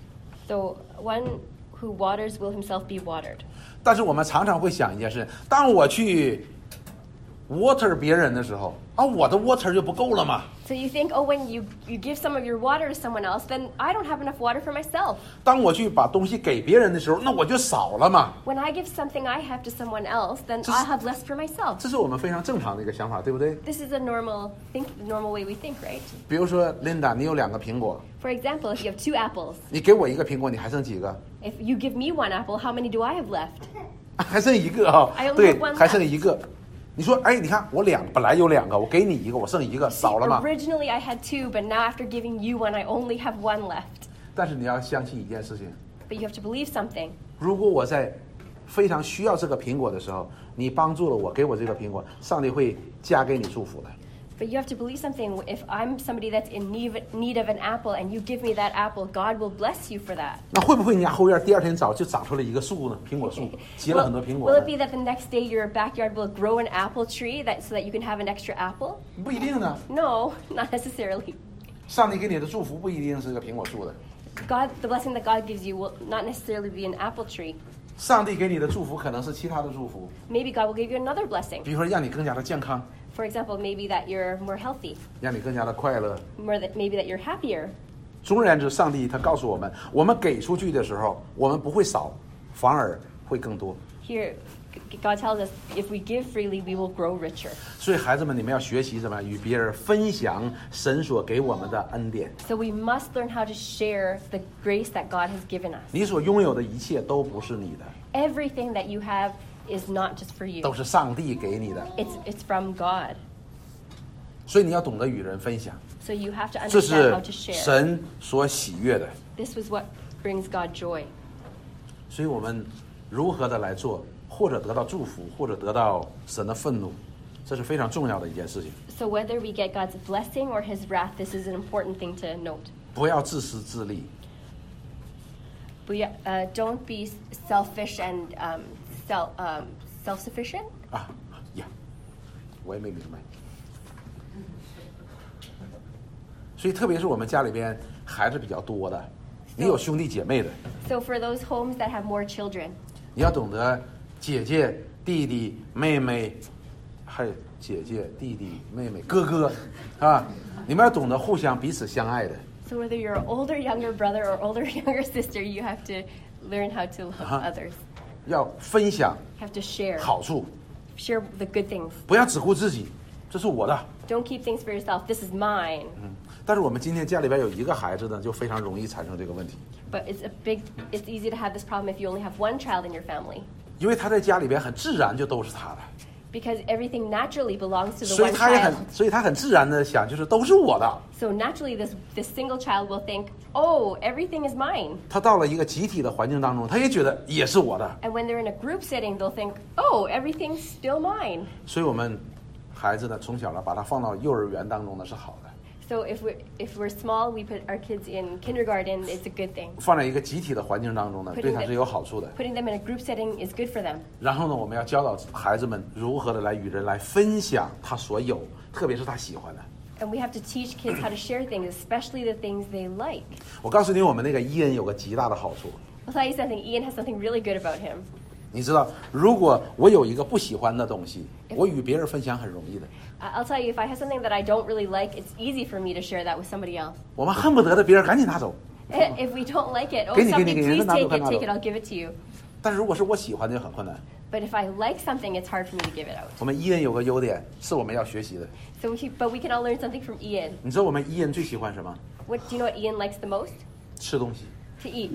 B: So one who waters will himself be watered.
A: 但是我们常常会想一件事，当我去 water 别人的时候，啊，我的 water 就不够了嘛。
B: So you think, oh, when you, you give some of your water to someone else, then I don't have enough water for myself.
A: 当我去把东西给别人的时候，那我就少了嘛。
B: When I give something I have to someone else, then
A: Just-
B: I'll have less for myself.
A: 这是我们非常正常的一个想法，对不对？
B: This is a normal think, normal way we think, right?
A: 比如说 Linda，你有两个苹果，
B: For example, if you have two apples,
A: 你给我一个苹果，你还剩几个？
B: if you give me one apple, how many do I have left?
A: 还剩一个啊、
B: I only
A: 对
B: have one，
A: 还剩一个。你说，哎，你看我两本来有两个，我给你一个，我剩一个，少了吗？
B: Originally I had two, but now after giving you one, I only have one left.
A: 但是你要相信一件事情，
B: But you have to believe something.
A: 如果我在非常需要这个苹果的时候，你帮助了我，给我这个苹果，上帝会加给你祝福的。
B: But you have to believe something. If I'm somebody that's in need need of an apple and you give me that apple, God will bless you for that.
A: 那会不会你家后院第二天早就长出了一个树呢？苹果树结了
B: Will,
A: 很多苹果
B: will
A: 呢
B: it be that the next day your backyard will grow an apple tree that so that you can have an extra apple?
A: 不一定呢。
B: No, not necessarily.
A: 上帝给你的祝福不一定是个苹果树的，
B: God, the blessing that God gives you will not necessarily be an apple tree.
A: 上帝给你的祝福可能是其他的祝福，
B: Maybe God will give you another blessing.
A: 比如说让你更加的健康，
B: For example, maybe that you're more healthy,
A: 让你更加的快乐。
B: more that maybe that you're happier.
A: 总而言之，上帝他告诉我们，我们给出去的时候，我们不会少，反而会更多。
B: Here, g- God tells us if we give freely, we will grow richer.
A: 所以孩子们，你们要学习什么？与别人分享神所给我们的恩典。
B: So we must learn how to share the grace that God has given us.
A: 你所拥有的一切都不是你的，
B: Everything that you have is not just for you.
A: 都是上帝给你的。
B: It's it's from God.
A: 所以你要懂得与人分享，
B: So you have to
A: 这
B: understand
A: 是
B: how to share.
A: 神所喜悦的。
B: This was what brings God joy.
A: 所以我们如何的来做，或者得到祝福，或者得到神的愤怒，这是非常重要的一件事情。
B: So whether we get God's blessing or His wrath, this is an important thing to note.
A: 不要自私自利，
B: But yeah, uh, don't be selfish and um, self um, self-sufficient.
A: 啊呀，我也没明白。所以特别是我们家里边孩子比较多的，你有兄弟姐妹的，
B: So for those homes that have more children,
A: 你要懂得姐姐、弟弟、妹妹，还有姐姐、弟弟、妹妹、哥哥，啊，你们要懂得互相彼此相爱的。
B: so whether you're an older younger brother or older younger sister, you have to learn how to love
A: Uh-huh.
B: others.
A: 要分享
B: Have to share,
A: 好处，
B: share the good things.
A: 不要只顾自己，这是我的。
B: Don't keep things for yourself. This is mine.
A: 但是我们今天家里边有一个孩子呢，就非常容易产生这个问题，
B: But it's a big. It's easy to have this problem if you only have one child in your family,
A: 因为他在家里边很自然就都是他的，
B: because everything naturally belongs to the
A: 所以
B: one
A: 他也很
B: child.
A: 所以他很自然的想，就是都是我的。
B: So naturally, this this single child will think, "Oh, everything is mine."
A: 他到了一个集体的环境当中，他也觉得也是我的。
B: And when they're in a group setting, they'll think, "Oh, everything's still mine."
A: 所以我们孩子呢，从小呢把他放到幼儿园当中呢是好的。
B: So if we're if we're small, we put our kids in kindergarten. It's a good thing.
A: 放在一个集体的环境当中呢，
B: Putting
A: 对他
B: them-
A: 是有好处的。
B: Putting them in a group setting is good for them.
A: 然后呢，我们要教导孩子们如何的来与人来分享他所有，特别是他喜欢的。
B: And we have to teach kids how to share things, especially the things they like.
A: 我告诉你，我们那个伊恩有个极大的好处。
B: I'll tell you something. Ian has something really good about him.
A: 你知道，如果我有一个不喜欢的东西，我与别人分享很容易的。
B: Uh, I'll tell you, if I have something that I don't really like, it's easy for me to share that with somebody else.
A: 我们恨不得的别人赶紧拿走。
B: If we don't like it, oh,
A: Give me, give me,
B: somebody,
A: give me.
B: please
A: Nado,
B: take it,
A: nado.
B: take it, I'll give it to you.
A: 但是如果是我喜欢的，就很困难。
B: But if I like something, it's hard for me to give it out.
A: 我们伊恩有个优点，是我们要学习的。
B: So, we, but we can all learn something from Ian.
A: 你知道我们伊恩最喜欢什么？
B: What do you know what Ian likes the most?
A: 吃东西。
B: To eat.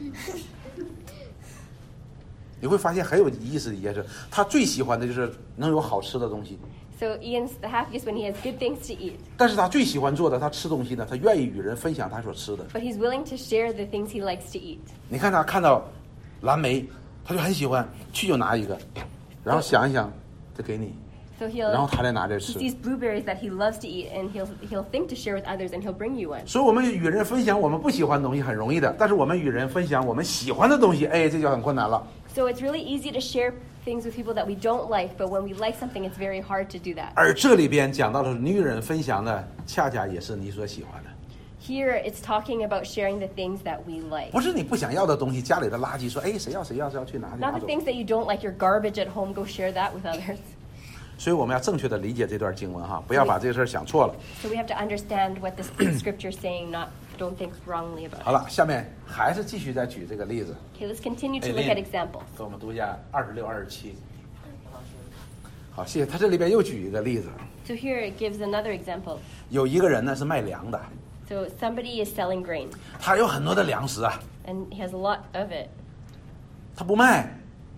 A: 你会发现很有意思的一件事，他最喜欢的就是能有好吃的东西。
B: So Ian's the happiest when he has good things to eat.
A: 但是他最喜欢做的，他吃东西呢，他愿意与人分享他所吃的。
B: But he's willing to share the things he likes to eat.
A: 你看他看到蓝莓，他就很喜欢，去就拿一个，然后想一想，再给你，
B: So
A: 然后
B: he'll
A: 他再拿着
B: he
A: 吃。
B: sees blueberries that he loves to eat, and he'll he'll think to share with others, and he'll bring you one.
A: 所以，我们与人分享我们不喜欢的东西很容易的，但是我们与人分享我们喜欢的东西，哎，这就很困难了。
B: So it's really easy to share things with people that we don't like, but when we like something, it's very hard to do that.
A: 而这里边讲到的是你与人分享的，恰恰也是你所喜欢的，
B: Here, it's talking about sharing the things that we like.
A: 不是你不想要的东西，家里的垃圾，说哎谁要谁要谁要去拿去拿
B: Not
A: 走。
B: the things that you don't like, your garbage at home, go share that with others.
A: 所以我们要正确的理解这段经文哈，不要把这个事儿想错了。
B: So we have to understand what this scripture is saying, not don't think wrongly about
A: 好
B: it.
A: 了，下面还是继续再举这个例子，
B: Okay, let's continue to
A: Hey,
B: look
A: Lynn.
B: at examples.
A: 给我们读一下二十六、二十七。好，谢谢。他这里边又举一个例子，
B: So here it gives another example.
A: 有一个人呢是卖粮的，
B: So somebody is selling grain,
A: 他有很多的粮食啊，
B: and he has a lot of it,
A: 他不卖，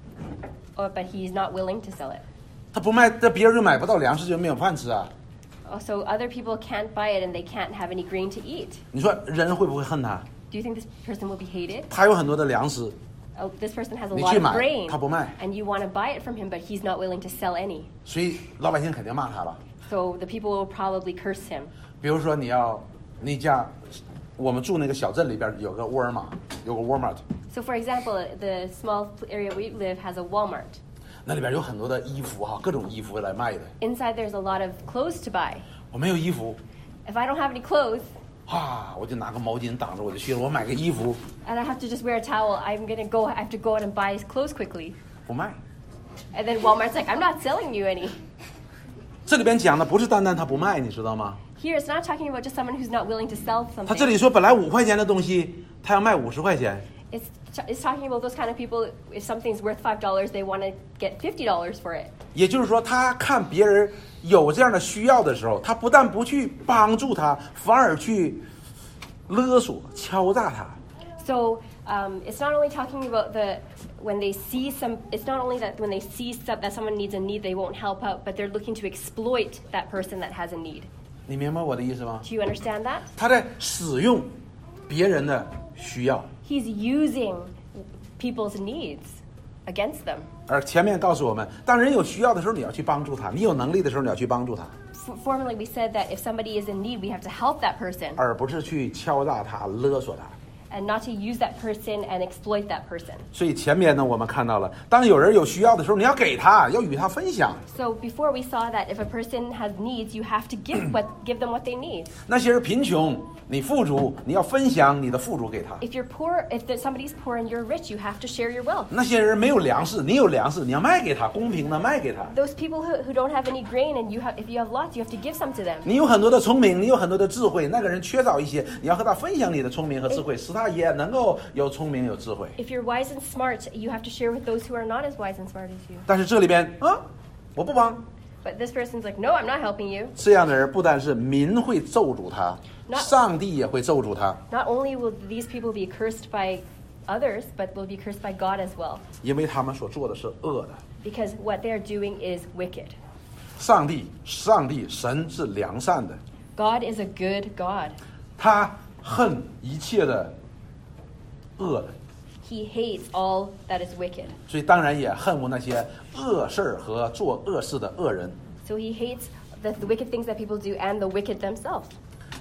B: or, but he's not willing to sell it.
A: 他不卖，这别人就买不到粮食，就没有饭吃啊。
B: Also, other people can't buy it, and they can't have any grain to eat.
A: 你说人会不会恨他？
B: Do you think this person will be hated?
A: 他有很多的粮食，
B: Oh, this person has a
A: 你
B: lot
A: 去
B: of
A: 买，
B: grain,
A: 他不卖，
B: and you want to buy it from him, but he's not willing to sell any.
A: 所以老百姓肯定骂他了。
B: So the people will probably curse him.
A: 比如说你要，你家，我们住那个小镇里边有个沃尔玛，有个 Walmart，
B: So, for example, the small area we live has a Walmart.
A: 那里边有很多的衣服哈，各种衣服来卖的。
B: Inside, there's a lot of clothes to buy.
A: 我没有衣服，
B: If I don't have any clothes,
A: 哈，我就拿个毛巾挡着我就去了。我买个衣服
B: and I have to just wear a towel, I'm gonna go. I have to go out and buy his clothes quickly.
A: 不卖。
B: And then Walmart's like, I'm not selling you any.
A: 这里边讲的不是单单他不卖，你知道吗？
B: Here, it's not talking about just someone who's not willing to sell
A: 他这
B: something.
A: 里说本来五块钱的东西，他要卖五十块钱。
B: It's, it's talking about those kind of people. If something's worth five dollars, they want to get fifty dollars for it.
A: 也就是说，他看别人有这样的需要的时候，他不但不去帮助他，反而去勒索、敲诈他。
B: So um, it's not only talking about the when they see some. It's not only that when they see some, that someone needs a need, they won't help out, but they're looking to exploit that person that has a need.
A: 你明白我的意思吗？
B: Do you understand that?
A: 他在使用别人的需要，
B: He's using people's needs against them.
A: 而前面告诉我们，当人有需要的时候，你要去帮助他；你有能力的时候，你要去帮助他，
B: F- formerly, we said that if somebody is in need, we have to help that person
A: 而不是去敲诈他、勒索他。
B: and not to use that person and exploit that person.
A: 所以前面呢，我们看到了，当有人有需要的时候，你要给他，要与他分享。
B: So before we saw that if a person has needs, you have to give what give them what they need.
A: 那些人贫穷，你富足，你要分享你的富足给他；
B: If you're poor, if there's somebody's poor and you're rich, you have to share your wealth.
A: 那些人没有粮食，你有粮食，你要卖给他，公平的卖给他。
B: Those people who, who don't have any grain and you have if you have lots, you have to give some to them.
A: 你有很多的聪明，你有很多的智慧，那个人缺少一些，你要和他分享你的聪明和智慧，使他也能够有聪明有智慧。
B: If you're wise and smart, you have to share with those who are not as wise and smart as you.
A: 但是这里边啊，我不帮，
B: But this person's like, no, I'm not helping you.
A: 这样的人不但是民会咒诅他，
B: Not-
A: 上帝也会咒诅他，
B: Not only will these people be cursed by others, but will be cursed by God as well.
A: 因为他们所做的是恶的。
B: Because what they're doing is wicked.
A: 上帝，上帝，神是良善的，
B: God is a good God.
A: 他恨一切的恶的。
B: He hates all that is wicked.
A: 所以当然也恨恶那些恶事儿和做恶事的恶人。
B: So he hates the, the wicked things that people do and the wicked themselves.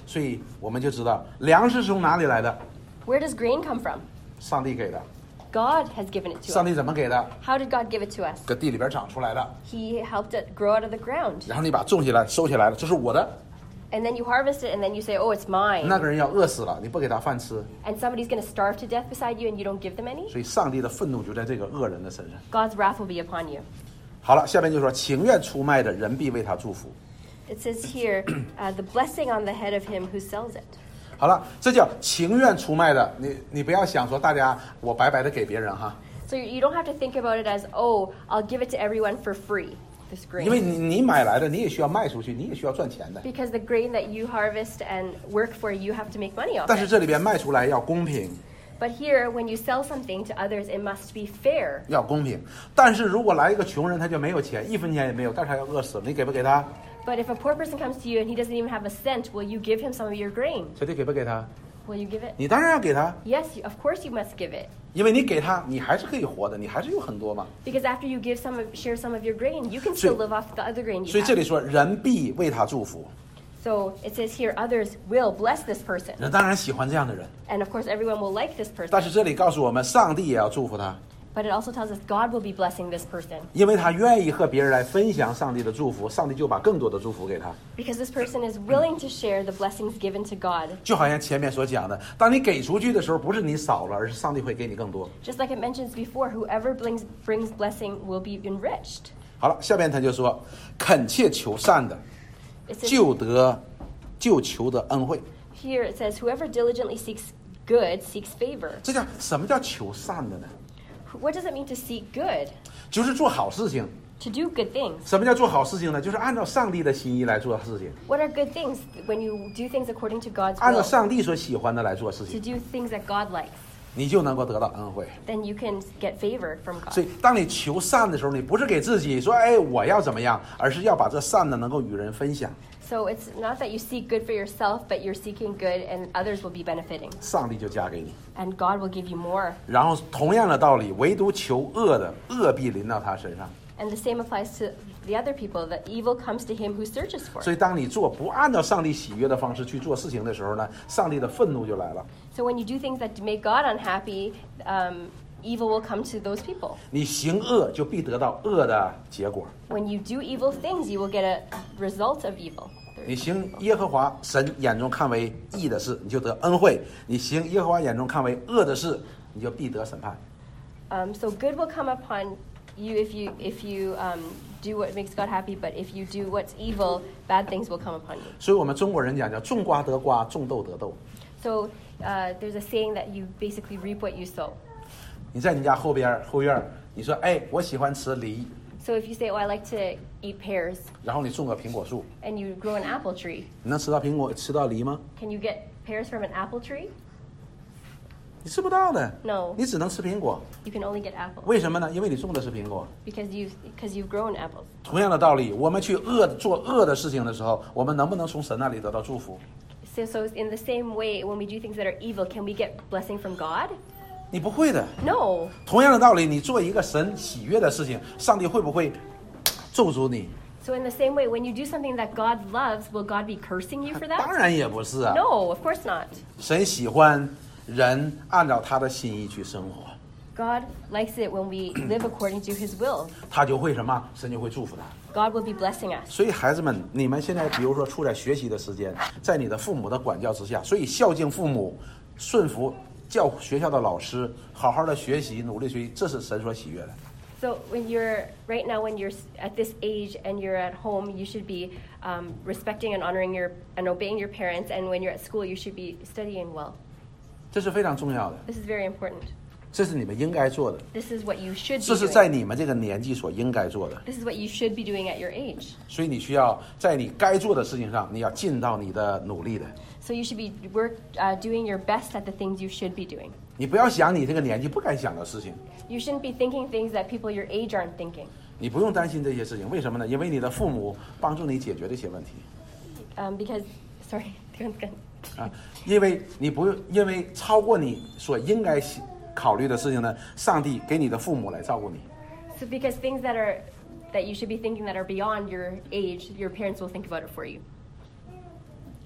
A: 所以我们就知道粮食是从哪里来的，
B: Where does grain come from?
A: 上帝给的。
B: God has given it to
A: 上
B: us.
A: 帝怎么给的？
B: How did God give it to us?
A: 搁地里边长出来的，
B: He helped it grow out of the ground.
A: 然后你把它种起来收起来了，这是我的。
B: And then you harvest it and then you say, oh, it's mine.
A: 那个人要饿死了，你不给他饭吃，
B: And somebody's going to starve to death beside you and you don't give them any?
A: 所以上帝的愤怒就在这个恶人的身上。
B: God's wrath will be upon you.
A: 好了，下面就说情愿出卖的人必为他祝福。
B: It says here, uh, the blessing on the head of him who sells it.
A: 好了，这叫情愿出卖的。你你不要想说大家我白白的给别人哈，
B: So you you don't have to think about it as, oh, I'll give it to everyone for free, this
A: 因为
B: grain.
A: 你你买来的你也需要卖出去，你也需要赚钱的。
B: Because the grain that you harvest and work for, you have to make money off
A: 但是
B: it.
A: 这里边卖出来要公平，
B: But here, when you sell something to others, it must be fair.
A: 要公平。但是如果来一个穷人，他就没有钱，一分钱也没有，但是他要饿死了，你给不给他？
B: But if a poor person comes to you and he doesn't even have a cent, will you give him some of your grain?
A: 小弟给不给他？
B: Will you give it?
A: 你当然要给他，
B: Yes, you, of course you must give it.
A: 因为你给他，你还是可以活的，你还是有很多嘛。
B: Because after you give some of, share some of your grain, you can
A: 所以-
B: still live off the other grain
A: 所
B: you
A: 以这里
B: have.
A: 说人必为他祝福，
B: So it says here, others will bless this person.
A: 人当然喜欢这样的人。
B: And of course, everyone will like this
A: 但
B: person.
A: 是这里告诉我们，上帝也要祝福他，
B: But it also tells us God will be blessing this person.
A: 因为他愿意和别人来分享上帝的祝福，上帝就把更多的祝福给他。
B: Because this person is willing to share the blessings given to God.
A: 就好像前面所讲的，当你给出去的时候，不是你少了，而是上帝会给你更多。
B: Just like it mentions before, whoever brings, brings blessing will be enriched.
A: 好了，下边他就说，恳切求善的，
B: It says,
A: 就得就求得恩惠。
B: here it says, whoever diligently seeks good seeks favor.
A: 这叫什么叫求善的呢？
B: What does it mean to seek good?
A: 就是做好事情。
B: To do good things.
A: 什么叫做好事情呢？就是按照上帝的心意来做事情，
B: What are good things? When you do things according to God's
A: 按照
B: will,
A: 上帝所喜欢的来做事
B: to
A: 情，
B: do things that God likes,
A: 你就能够得到恩惠。
B: then you can get favor from
A: 所
B: God.
A: 以，当你求善的时候，你不是给自己说，哎，我要怎么样，而是要把这善呢能够与人分享。
B: So it's not that you seek good for yourself, but you're seeking good and others will be benefiting.
A: 上帝就加给你。
B: And God will give you more.
A: 然后，同样的道理，唯独求恶的，恶必临到他身上。
B: And the same applies to the other people, that evil comes to him who searches for
A: 所
B: it.
A: 以，当你做不按照上帝喜悦的方式去做事情的时候呢，上帝的愤怒就来了。
B: So when you do things that make God unhappy, um, evil will come to those people.
A: 你行恶，就必得到恶的结果。
B: When you do evil things, you will get a result of evil.
A: 你行耶和华神眼中看为义的事，你就得恩惠；你行耶和华眼中看为恶的事，你就必得审判。
B: Um, so good will come upon you if you if you um, do what makes God happy, but if you do what's evil, bad things will come upon you.
A: 所以我们中国人讲叫种瓜得瓜，种豆得豆。
B: So uh, there's a saying that you basically reap what you sow.
A: 你在你家后边后院儿，你说哎，我喜欢吃梨，
B: So if you say, oh, I like to eat pears,
A: 然后你种个苹果树，
B: and you grow an apple tree,
A: 你能吃到苹果吃到梨吗？
B: can you get pears from an apple tree?
A: 你吃不到的。
B: No.
A: 你只能吃苹果。
B: You can only get apples
A: 为什么呢？因为你种的是苹果。
B: because you've because you've grown apples.
A: 同样的道理，我们去恶做恶的事情的时候，我们能不能从神那里得到祝福？
B: So so in the same way, when we do things that are evil, can we get blessing from God?
A: 你不会的。
B: No.
A: 同样的道理，你做一个神喜悦的事情，上帝会不会咒诅你？
B: So in the same way, when you do something that God loves, will God be cursing you for
A: 当
B: that?
A: 然也不是啊。
B: No, of course not.
A: 神喜欢人按照他的心意去生活，
B: God likes it when we live according to His will.
A: 他就会什么？神就会祝福他。
B: God will be blessing us.
A: 所以孩子们，你们现在比如说处在学习的时间，在你的父母的管教之下，所以孝敬父母，顺服教学校的老师，好好的学习，努力学习，这是神所喜悦的。
B: So when you're right now, when you're at this age and you're at home, you should be um, respecting and honoring your and obeying your parents. And when you're at school, you should be studying well.
A: 这是非常重要的，
B: This is very important.
A: 这是你们应该做的，
B: This is what you should
A: 这
B: be
A: 是在
B: doing.
A: 你们这个年纪所应该做的。
B: This is what you should be doing at your age.
A: 所以你需要在你该做的事情上，你要尽到你的努力的。
B: So you should be work uh, doing your best at the things you should be doing.
A: 你不要想你这个年纪不该想的事情，
B: You shouldn't be thinking things that people your age aren't thinking.
A: 你不用担心这些事情。为什么呢？因为你的父母帮助你解决这些问题
B: Um, because, sorry,
A: 啊。因为你不用，因为超过你所应该考虑的事情呢，上帝给你的父母来照顾你。
B: so because things that are that you should be thinking that are beyond your age, your parents will think about it for you.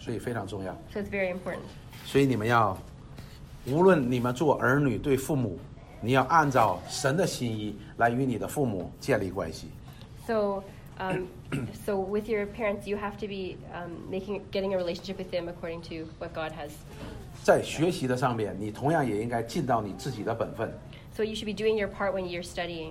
A: 所以非常重要。
B: So it's very important.
A: 所以你们要，无论你们做儿女对父母，你要按照神的心意来与你的父母建立关系。
B: So, um, so with your parents, you have to be um, making, getting a relationship with them according to what God has.
A: 在学习的上面，你同样也应该尽到你自己的本分。
B: So you should be doing your part when you're studying.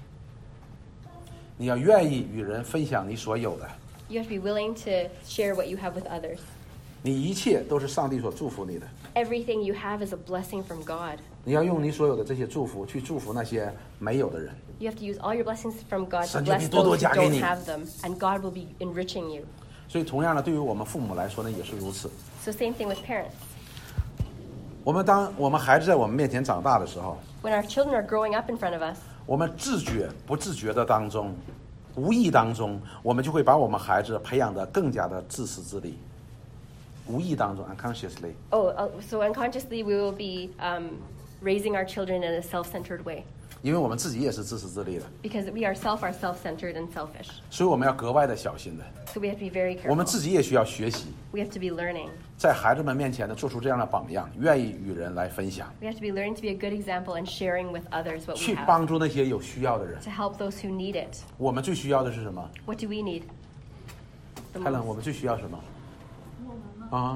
A: 你要愿意与人分享你所有的，
B: You have to be willing to share what you have with others.
A: 你一切都是上帝所祝福你的。
B: Everything you have is a blessing from God.
A: 你要用你所有的这些祝福去祝福那些没有的人。
B: You have to use all your blessings from God to
A: 神就
B: bless
A: 必多多
B: those
A: 加
B: who
A: 给
B: don't
A: 你。
B: have them, and God will be enriching you.
A: 所以，同样的，对于我们父母来说呢，也是如此。
B: So same thing with parents.
A: 我们当我们孩子在我们面前长大的时候，
B: When our children are growing up in front of us,
A: 我们自觉不自觉的当中，无意当中，我们就会把我们孩子培养得更加的自私自利。无意当中 ，unconsciously，
B: oh, uh, so unconsciously we will be um, raising our children in a self-centered way
A: 因为我们自己也是自私自利的，
B: because we ourselves are self-centered and selfish.
A: 所以我们要格外的小心的。
B: So we have to be very
A: 我们
B: careful.
A: 自己也需要学习，
B: We have to be learning.
A: 在孩子们面前呢，做出这样的榜样，愿意与人来分享，
B: We have to be learning to be a good example and sharing with others what we
A: 去
B: have
A: 帮助那些有需要的人。
B: to help those who need it.
A: 我们最需要的是什么？
B: What do we need? The
A: 泰伦，
B: most?
A: 我们最需要什么？啊？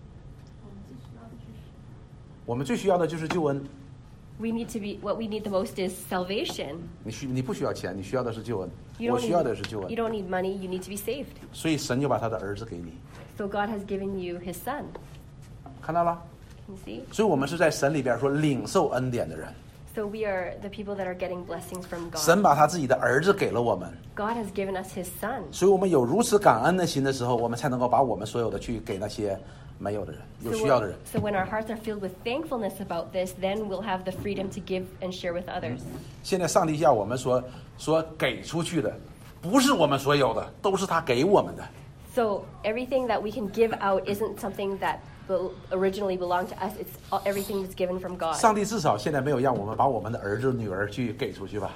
A: 我们最需要的就是救恩。
B: We need to be, what we need the most is salvation.
A: 你需你不需要钱，你需要的是救恩。
B: You
A: 我
B: don't
A: 需要的是救
B: need,
A: 恩
B: you。don't need money, you need to be saved.
A: 所以神就把他的儿子给你，
B: So God has given you his son.
A: 看到了？
B: You see?
A: 所以我们是在神里边说领受恩典的人。
B: So we are the people that are getting blessings from
A: 神
B: God.
A: 把他自己的儿子给了我们，
B: God has given us his son.
A: 所以我们有如此感恩的心的时候，我们才能够把我们所有的去给那些没有的人、有
B: So
A: 需要的人。
B: when, so when our hearts are filled with thankfulness about this, then we'll have the freedom to give and share with others.
A: 现在上帝要我们说说给出去的，不是我们所有的，都是他给我们的。
B: So everything that we can give out isn't something that bel- originally belonged to us. It's all, everything that's given from God.
A: 上帝至少现在没有让我们把我们的儿子、女儿去给出去吧，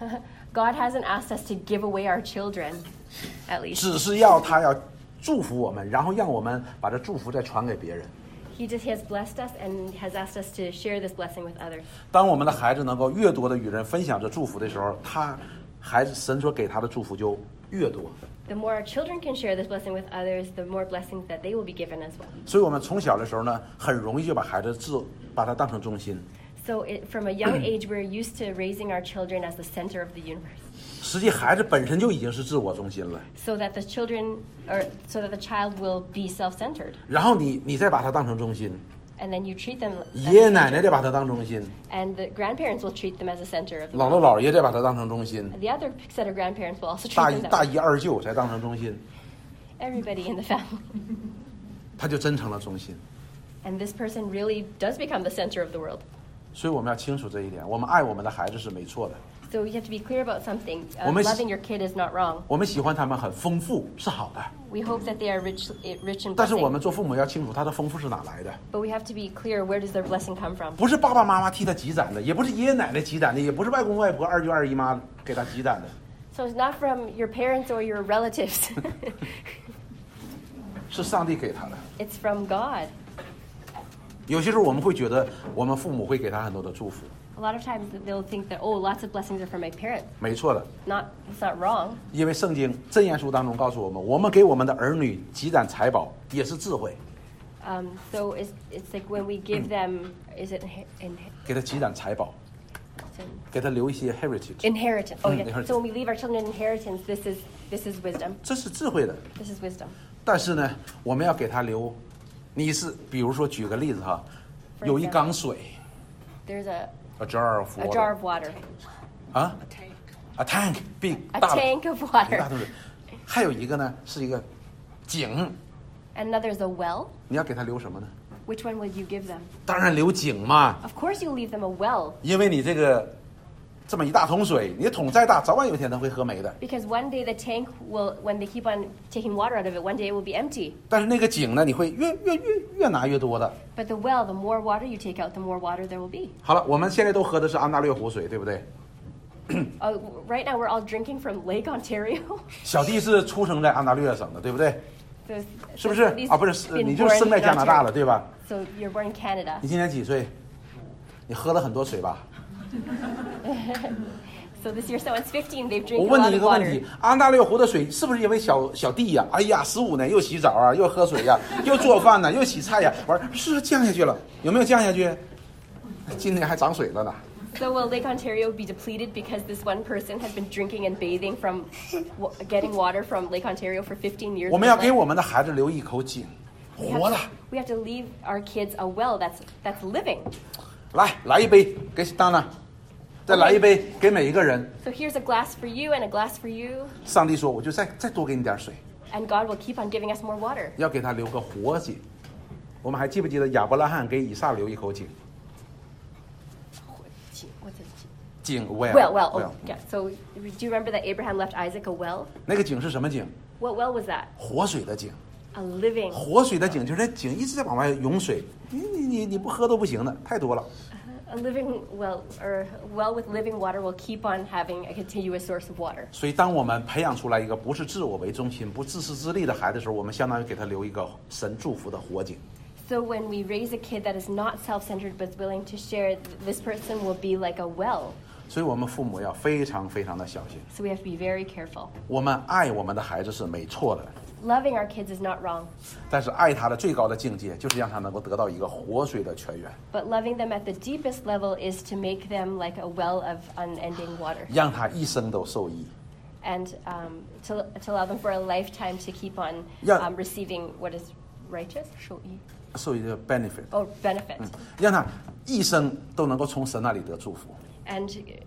B: God hasn't asked us to give away our children, at least.
A: 只是要他要祝福我们，然后让我们把这祝福再传给别人。
B: He just has blessed us and has asked us to share this blessing with others.
A: 当我们的孩子能够越多的与人分享这祝福的时候，他孩子神所给他的祝福就越多。
B: The more our children can share this blessing with others, the more blessings that they will be given as well.
A: 所以，我们从小的时候呢，很容易就把孩子自把他当成中心。
B: So it, from a young age, we're used to raising our children as the center of the universe.
A: 实际，孩子本身就已经是自我中心了。
B: So that the children, or so that the child will be self-centered.
A: 然后你你再把他当成中心，
B: And then you treat them as
A: 爷爷
B: the
A: 奶奶
B: center.
A: 再把他当中心，
B: And the grandparents will treat them as the center of the
A: 姥姥
B: world.
A: 姥爷再把他当成中心，
B: The other set of grandparents will also treat
A: 大
B: them
A: 姨
B: that
A: 大
B: way.
A: 姨二舅才当成中心，
B: Everybody in the family.
A: 他就真成了中心。
B: And this person really does become the center of the world.
A: 所以我们要清楚这一点，我们爱我们的孩子是没错的，
B: So you have to be clear about something. Uh,
A: 我们-
B: loving your kid is not wrong.
A: 我们喜欢他们很丰富是好的，
B: We hope that they are rich, rich in
A: 但是我
B: blessing.
A: 们做父母要清楚他的丰富是哪来的，
B: But we have to be clear, where does their blessing come from?
A: 不是爸爸妈妈替他积攒的，也不是爷爷奶奶积攒的，也不是外公外婆、二舅二姨妈给他积攒的，
B: So it's not from your parents or your relatives.
A: 是上帝给他的。
B: It's from God.
A: 有些时候我们会觉得我们父母会给他很多的祝福，
B: A lot of times they'll think that, oh, lots of blessings are from my parents.
A: 没错的，
B: Not, it's not wrong.
A: 因为圣经箴言书当中告诉我们，我们给我们的儿女积攒财宝也是智慧，
B: Um, so it's, it's like when we give them, is it inhe- in,
A: 给他积攒财宝，给他留一些 heritage，
B: inheritance? Oh,
A: Mm,
B: yeah.
A: inheritance.
B: So when we leave our children an inheritance, this is this is wisdom.
A: 这是智慧的。
B: This is wisdom.
A: 但是呢，我们要给他留，你是比如说举个例子哈，
B: For
A: 有一
B: example.
A: 缸水
B: There's a,
A: ，a jar of
B: a
A: water，
B: jar of water,
A: 啊，a tank big
B: a
A: 大的
B: tank of
A: 一大
B: water,
A: 桶水，还有一个呢是一个井，
B: and another's a well.
A: 你要给他留什么呢？
B: Which one would you give them?
A: 当然留井嘛，
B: Of course, you'll leave them a well,
A: 因为你这个这么一大桶水，你的桶再大，早晚有一天它会喝没的。
B: because one day the tank will, when they keep on taking water out of it, one day it will be empty.
A: 但是那个井呢，你会越越越越拿越多的。
B: But the well, the more water you take out, the more water there will be.
A: 好了，我们现在都喝的是安大略湖水，对不对？
B: Uh, right now, we're all drinking from Lake Ontario.
A: 小弟是出生在安大略省的，对不对？
B: So,
A: 是
B: so
A: 不是
B: these
A: 啊？不是，是
B: been
A: 你就是
B: born
A: 生在
B: in
A: 加拿大
B: Ontario.
A: 了，对吧？
B: So you're born in Canada.
A: 你今年几岁？你喝了很多水吧？
B: So this year someone's fifteen. They've
A: 我
B: drank a
A: 问
B: lot
A: 你一
B: of
A: 个问
B: water.
A: 题：安大略湖的水是不是因为小小弟呀、哎呀，十五年又洗澡啊，又喝水呀、又做饭呐、又洗菜呀、完是不是降下去了？有没有降下去？今年还涨水了呢。
B: So will Lake Ontario be depleted because this one person has been drinking and bathing from, w- getting water from Lake Ontario for fifteen years?
A: 我
B: of
A: 们要
B: his
A: 给
B: life?
A: 我们的孩子留一口井，
B: We
A: 活
B: have,
A: 的。
B: we have to leave our kids a well that's that's living.
A: 来，来一杯给当然，再来一杯给每一个人。
B: So here's a glass for you and a glass for you,
A: 上帝说，我就再再多给你点水，
B: and God will keep on giving us more water.
A: 要给他留个活井。我们还记不记得亚伯拉罕给以撒留一口井？
B: What's it?
A: 井 well
B: Well, well, oh, yeah. So do you remember that Abraham left Isaac a well?
A: 那个井是什么井？
B: What well was that?
A: 活水的井。
B: A living,
A: 活水的井就是那井一直在往外涌水，你你你你不喝都不行的，太多了。
B: a living well, or a well with living water will keep on having a continuous source of water.
A: 所以，当我们培养出来一个不是自我为中心、不自私自利的孩子的时候，我们相当于给他留一个神祝福的活井。
B: So when we raise a kid that is not self-centered but is willing to share, this person will be like a well.
A: 所以我们父母要非常非常的小心。
B: So we have to be very careful.
A: 我们爱我们的孩子是没错的，
B: Loving our kids is not wrong,
A: 但是爱他的最高的境界就是让他能够得到一个活水的泉源，
B: but loving them at the deepest level is to make them like a well of unending water,
A: 让他一生都受益。
B: and um, to, to allow them for a lifetime to keep on
A: Yeah.
B: um, receiving what is righteous, 受益,
A: 受益的 benefit，
B: or benefit,
A: 让他一生都能够从神那里得祝福，
B: and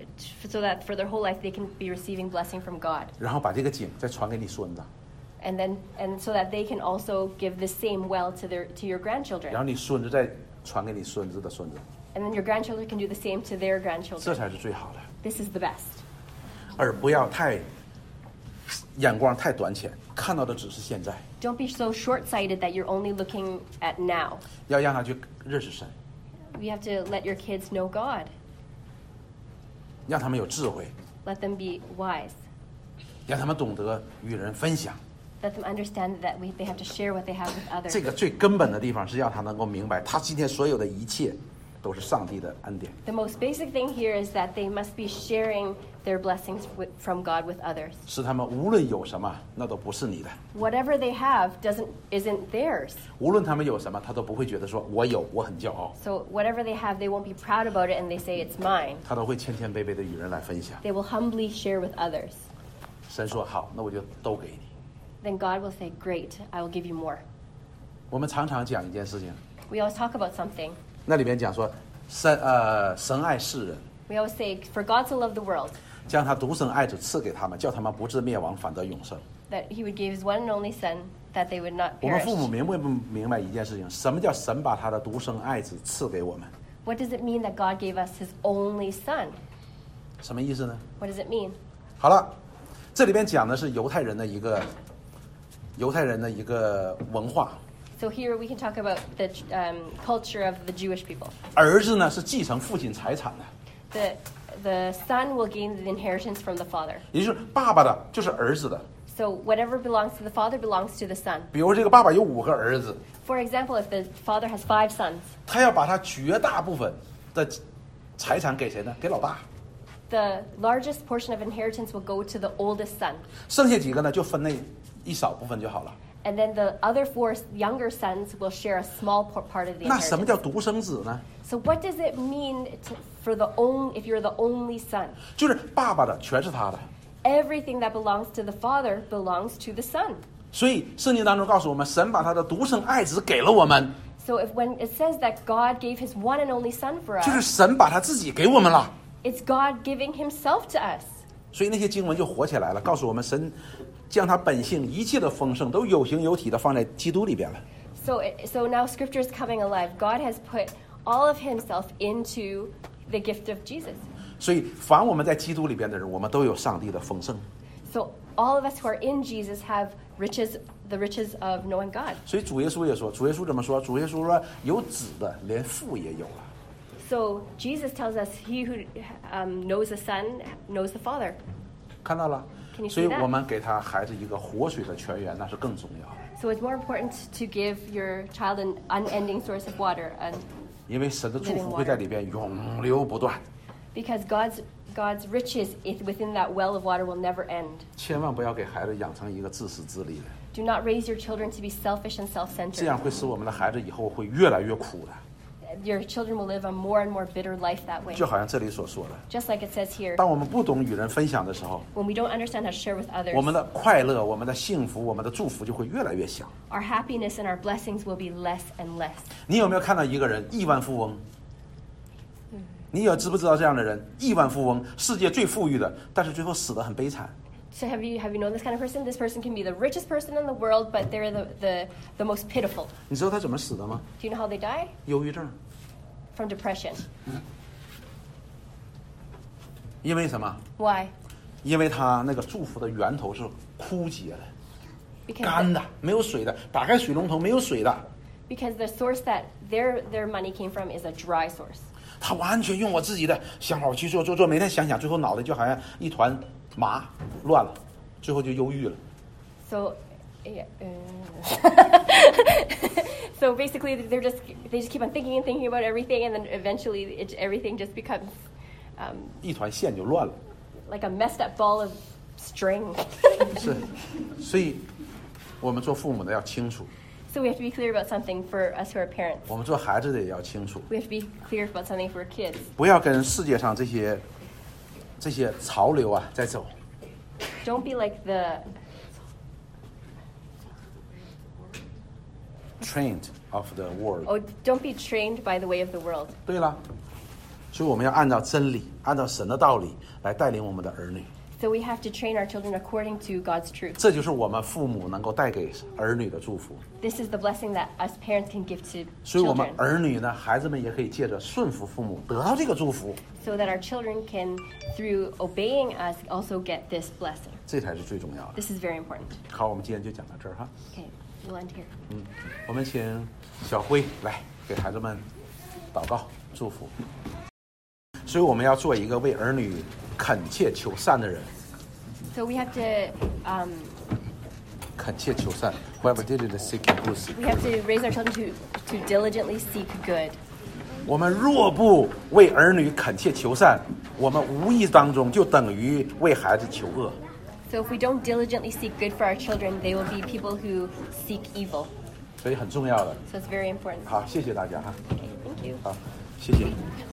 B: so that for their whole life they can be receiving blessing from God.
A: 然后把这个井再传给你孙子，
B: And then, and so that they can also give the same well to their to your
A: 然
B: grandchildren,
A: 后你孙子再传给你孙子的孙子，
B: and then your grandchildren can do the same to their
A: 这
B: grandchildren.
A: 才是最好的，
B: This is the best.
A: 而不要太眼光太短浅，看到的只是现在，
B: Don't be so short-sighted that you're only looking at now.
A: 要让他去认识神，
B: We have to let your kids know God.
A: 让他们有智慧，
B: Let them be wise.
A: 让他们懂得与人分享。
B: Let them understand that we, they have to share what they have with others.
A: 这个最根本的地方是要他能够明白，他今天所有的一切都是上帝的恩典。
B: The most basic thing here is that they must be sharing their blessings with, from God with others.
A: 使他们无论有什么，那都不是你的；
B: Whatever they have doesn't isn't theirs.
A: 无论他们有什么，他都不会觉得说我有，我很骄傲，
B: So whatever they have, they won't be proud about it and they say it's mine.
A: 他都会谦谦卑卑的与人来分享。
B: They will humbly share with others.
A: 神说好，那我就都给你。
B: Then God will say, "Great, I will give you more."
A: 我们常常讲一件事情，
B: We always talk about something.
A: 那里边讲说，神呃神爱世人，
B: We always say, "For God so loved the world,
A: 将他独生爱子赐给他们，叫他们不至灭亡，反得永生。
B: that He would give His one and only Son, that they would not
A: 我们
B: perish."
A: 父母明白不明白一件事情？什么叫神把他的独生爱子赐给我们？
B: What does it mean that God gave us His only Son?
A: 什么意思呢？
B: What does it mean?
A: 好了，这里边讲的是犹太人的一个犹太人的一个文化，
B: So here we can talk about the um, culture of the Jewish people.
A: 儿子呢是继承父亲财产的，
B: The the son will gain the inheritance from the father.
A: 也就是爸爸的就是儿子的。
B: So whatever belongs to the father belongs to the son.
A: 比如这个爸爸有五个儿子，
B: For example, if the father has five sons,
A: 他要把他绝大部分的财产给谁呢？给老大，
B: the largest portion of inheritance will go to the oldest son.
A: 剩下几个呢就分那一少部分就好了。
B: And then the other four younger sons will share a small por- part of the
A: 那什么
B: inheritance.
A: 叫独生子呢？
B: So what does it mean to, for the only, if you're the only son?
A: 就是爸爸的全是他的。
B: Everything that belongs to the father belongs to the son.
A: 所以圣经当中告诉我们，神把他的独生爱子给了我们，
B: So if when it says that God gave his one and only son for
A: 就是
B: us,
A: 神把他自己给我们了。
B: it's God giving himself to us.
A: 所以那些经文就活起来了，告诉我们神将他本性一切的丰盛都有形有体的放在基督里边了。
B: So, it, so now Scripture is coming alive. God has put all of himself into the gift of Jesus.
A: 所以凡我们在基督里边的人，我们都有上帝的丰盛。
B: So all of us who are in Jesus have riches, the riches of knowing God.
A: 所以主耶稣也说，主耶稣怎么说？主耶稣说，有子的连父也有了。
B: So Jesus tells us, he who um, knows the Son knows the Father.
A: 看到了
B: Can you，see
A: 所以
B: that？
A: 我们给他孩子一个活水的泉源，那是更重要的。
B: So it's more important to give your child an unending source of water, and
A: 因为神的祝福会在里边永流不断。
B: because God's God's riches is within that well of water will never end.
A: 千万不要给孩子养成一个自私自利的，
B: Do not raise your children to be selfish and
A: 这
B: self-centered.
A: 样会使我们的孩子以后会越来越苦的。
B: Your children will live a more and more bitter life that way.
A: 就好像这里所说的，
B: Just like it says here,
A: 当我们不懂与人分享的时候，
B: when we don't understand how to share with
A: 我们
B: others,
A: 的快乐、我们的幸福、我们的祝福就会越来越小。
B: our happiness and our blessings will be less and less.
A: 你有没有看到一个人亿万富翁？你有知不知道这样的人？亿万富翁，世界最富裕的，但是最后死得很悲惨。
B: So have you have you known this kind of person? This person can be the richest person in the world, but they're the, the, the most pitiful.
A: 你知道他怎么死的吗？
B: Do you know how they die?
A: 忧郁症。
B: From depression.
A: 因为什么？
B: Why?
A: 因为他那个祝福的源头是枯竭的、
B: Because
A: 干
B: the,
A: 的，没有水的。打开水龙头没有水的，
B: because the source that their their money came from is a dry source.
A: 他完全用我自己的想法去做做做，每天想想，最后脑袋就好像一团麻乱了，最后就忧郁了。
B: So, yeah, uh, so basically, they're just they just keep on thinking and thinking about everything, and then eventually, it, everything just becomes um,
A: 一团线就乱了。
B: like a messed up ball of string.
A: 是，所以我们做父母的要清楚，
B: So we have to be clear about something for us who are parents.
A: 我们做孩子的也要清楚，
B: We have to be clear about something for kids.
A: 不要跟世界上这些这些潮流啊在走。
B: Don't be like the
A: Trained of the world。
B: oh, don't be trained by the way of the world.
A: 对了，所以我们要按照真理，按照神的道理来带领我们的儿女。
B: So we have to train our children according to God's truth.
A: 这就是我们父母能够带给儿女的祝福。
B: This is the blessing that us parents can give to
A: 所以我们
B: children,
A: 儿女呢，孩子们也可以借着顺服父母得到这个祝福，
B: so that our children can, through obeying us, also get this blessing.
A: 这才是最重要的。
B: This is very important.
A: 好，我们今天就讲到这儿哈。
B: Okay, we'll end here.
A: 嗯，我们请小辉来给孩子们祷告祝福。所以我们要做一个为儿女恳切求善的人。
B: So we have to um,
A: 恳切求善 ，Whoever did it seek good.
B: we have to raise our children to to diligently seek good.
A: 我们若不为儿女恳切求善，我们无意当中就等于为孩子求恶。
B: So if we don't diligently seek good for our children, they will be people who seek evil.
A: 所以很重要的。
B: So it's very important.
A: 好，谢谢大家哈。
B: Okay, thank you.
A: 好，谢谢。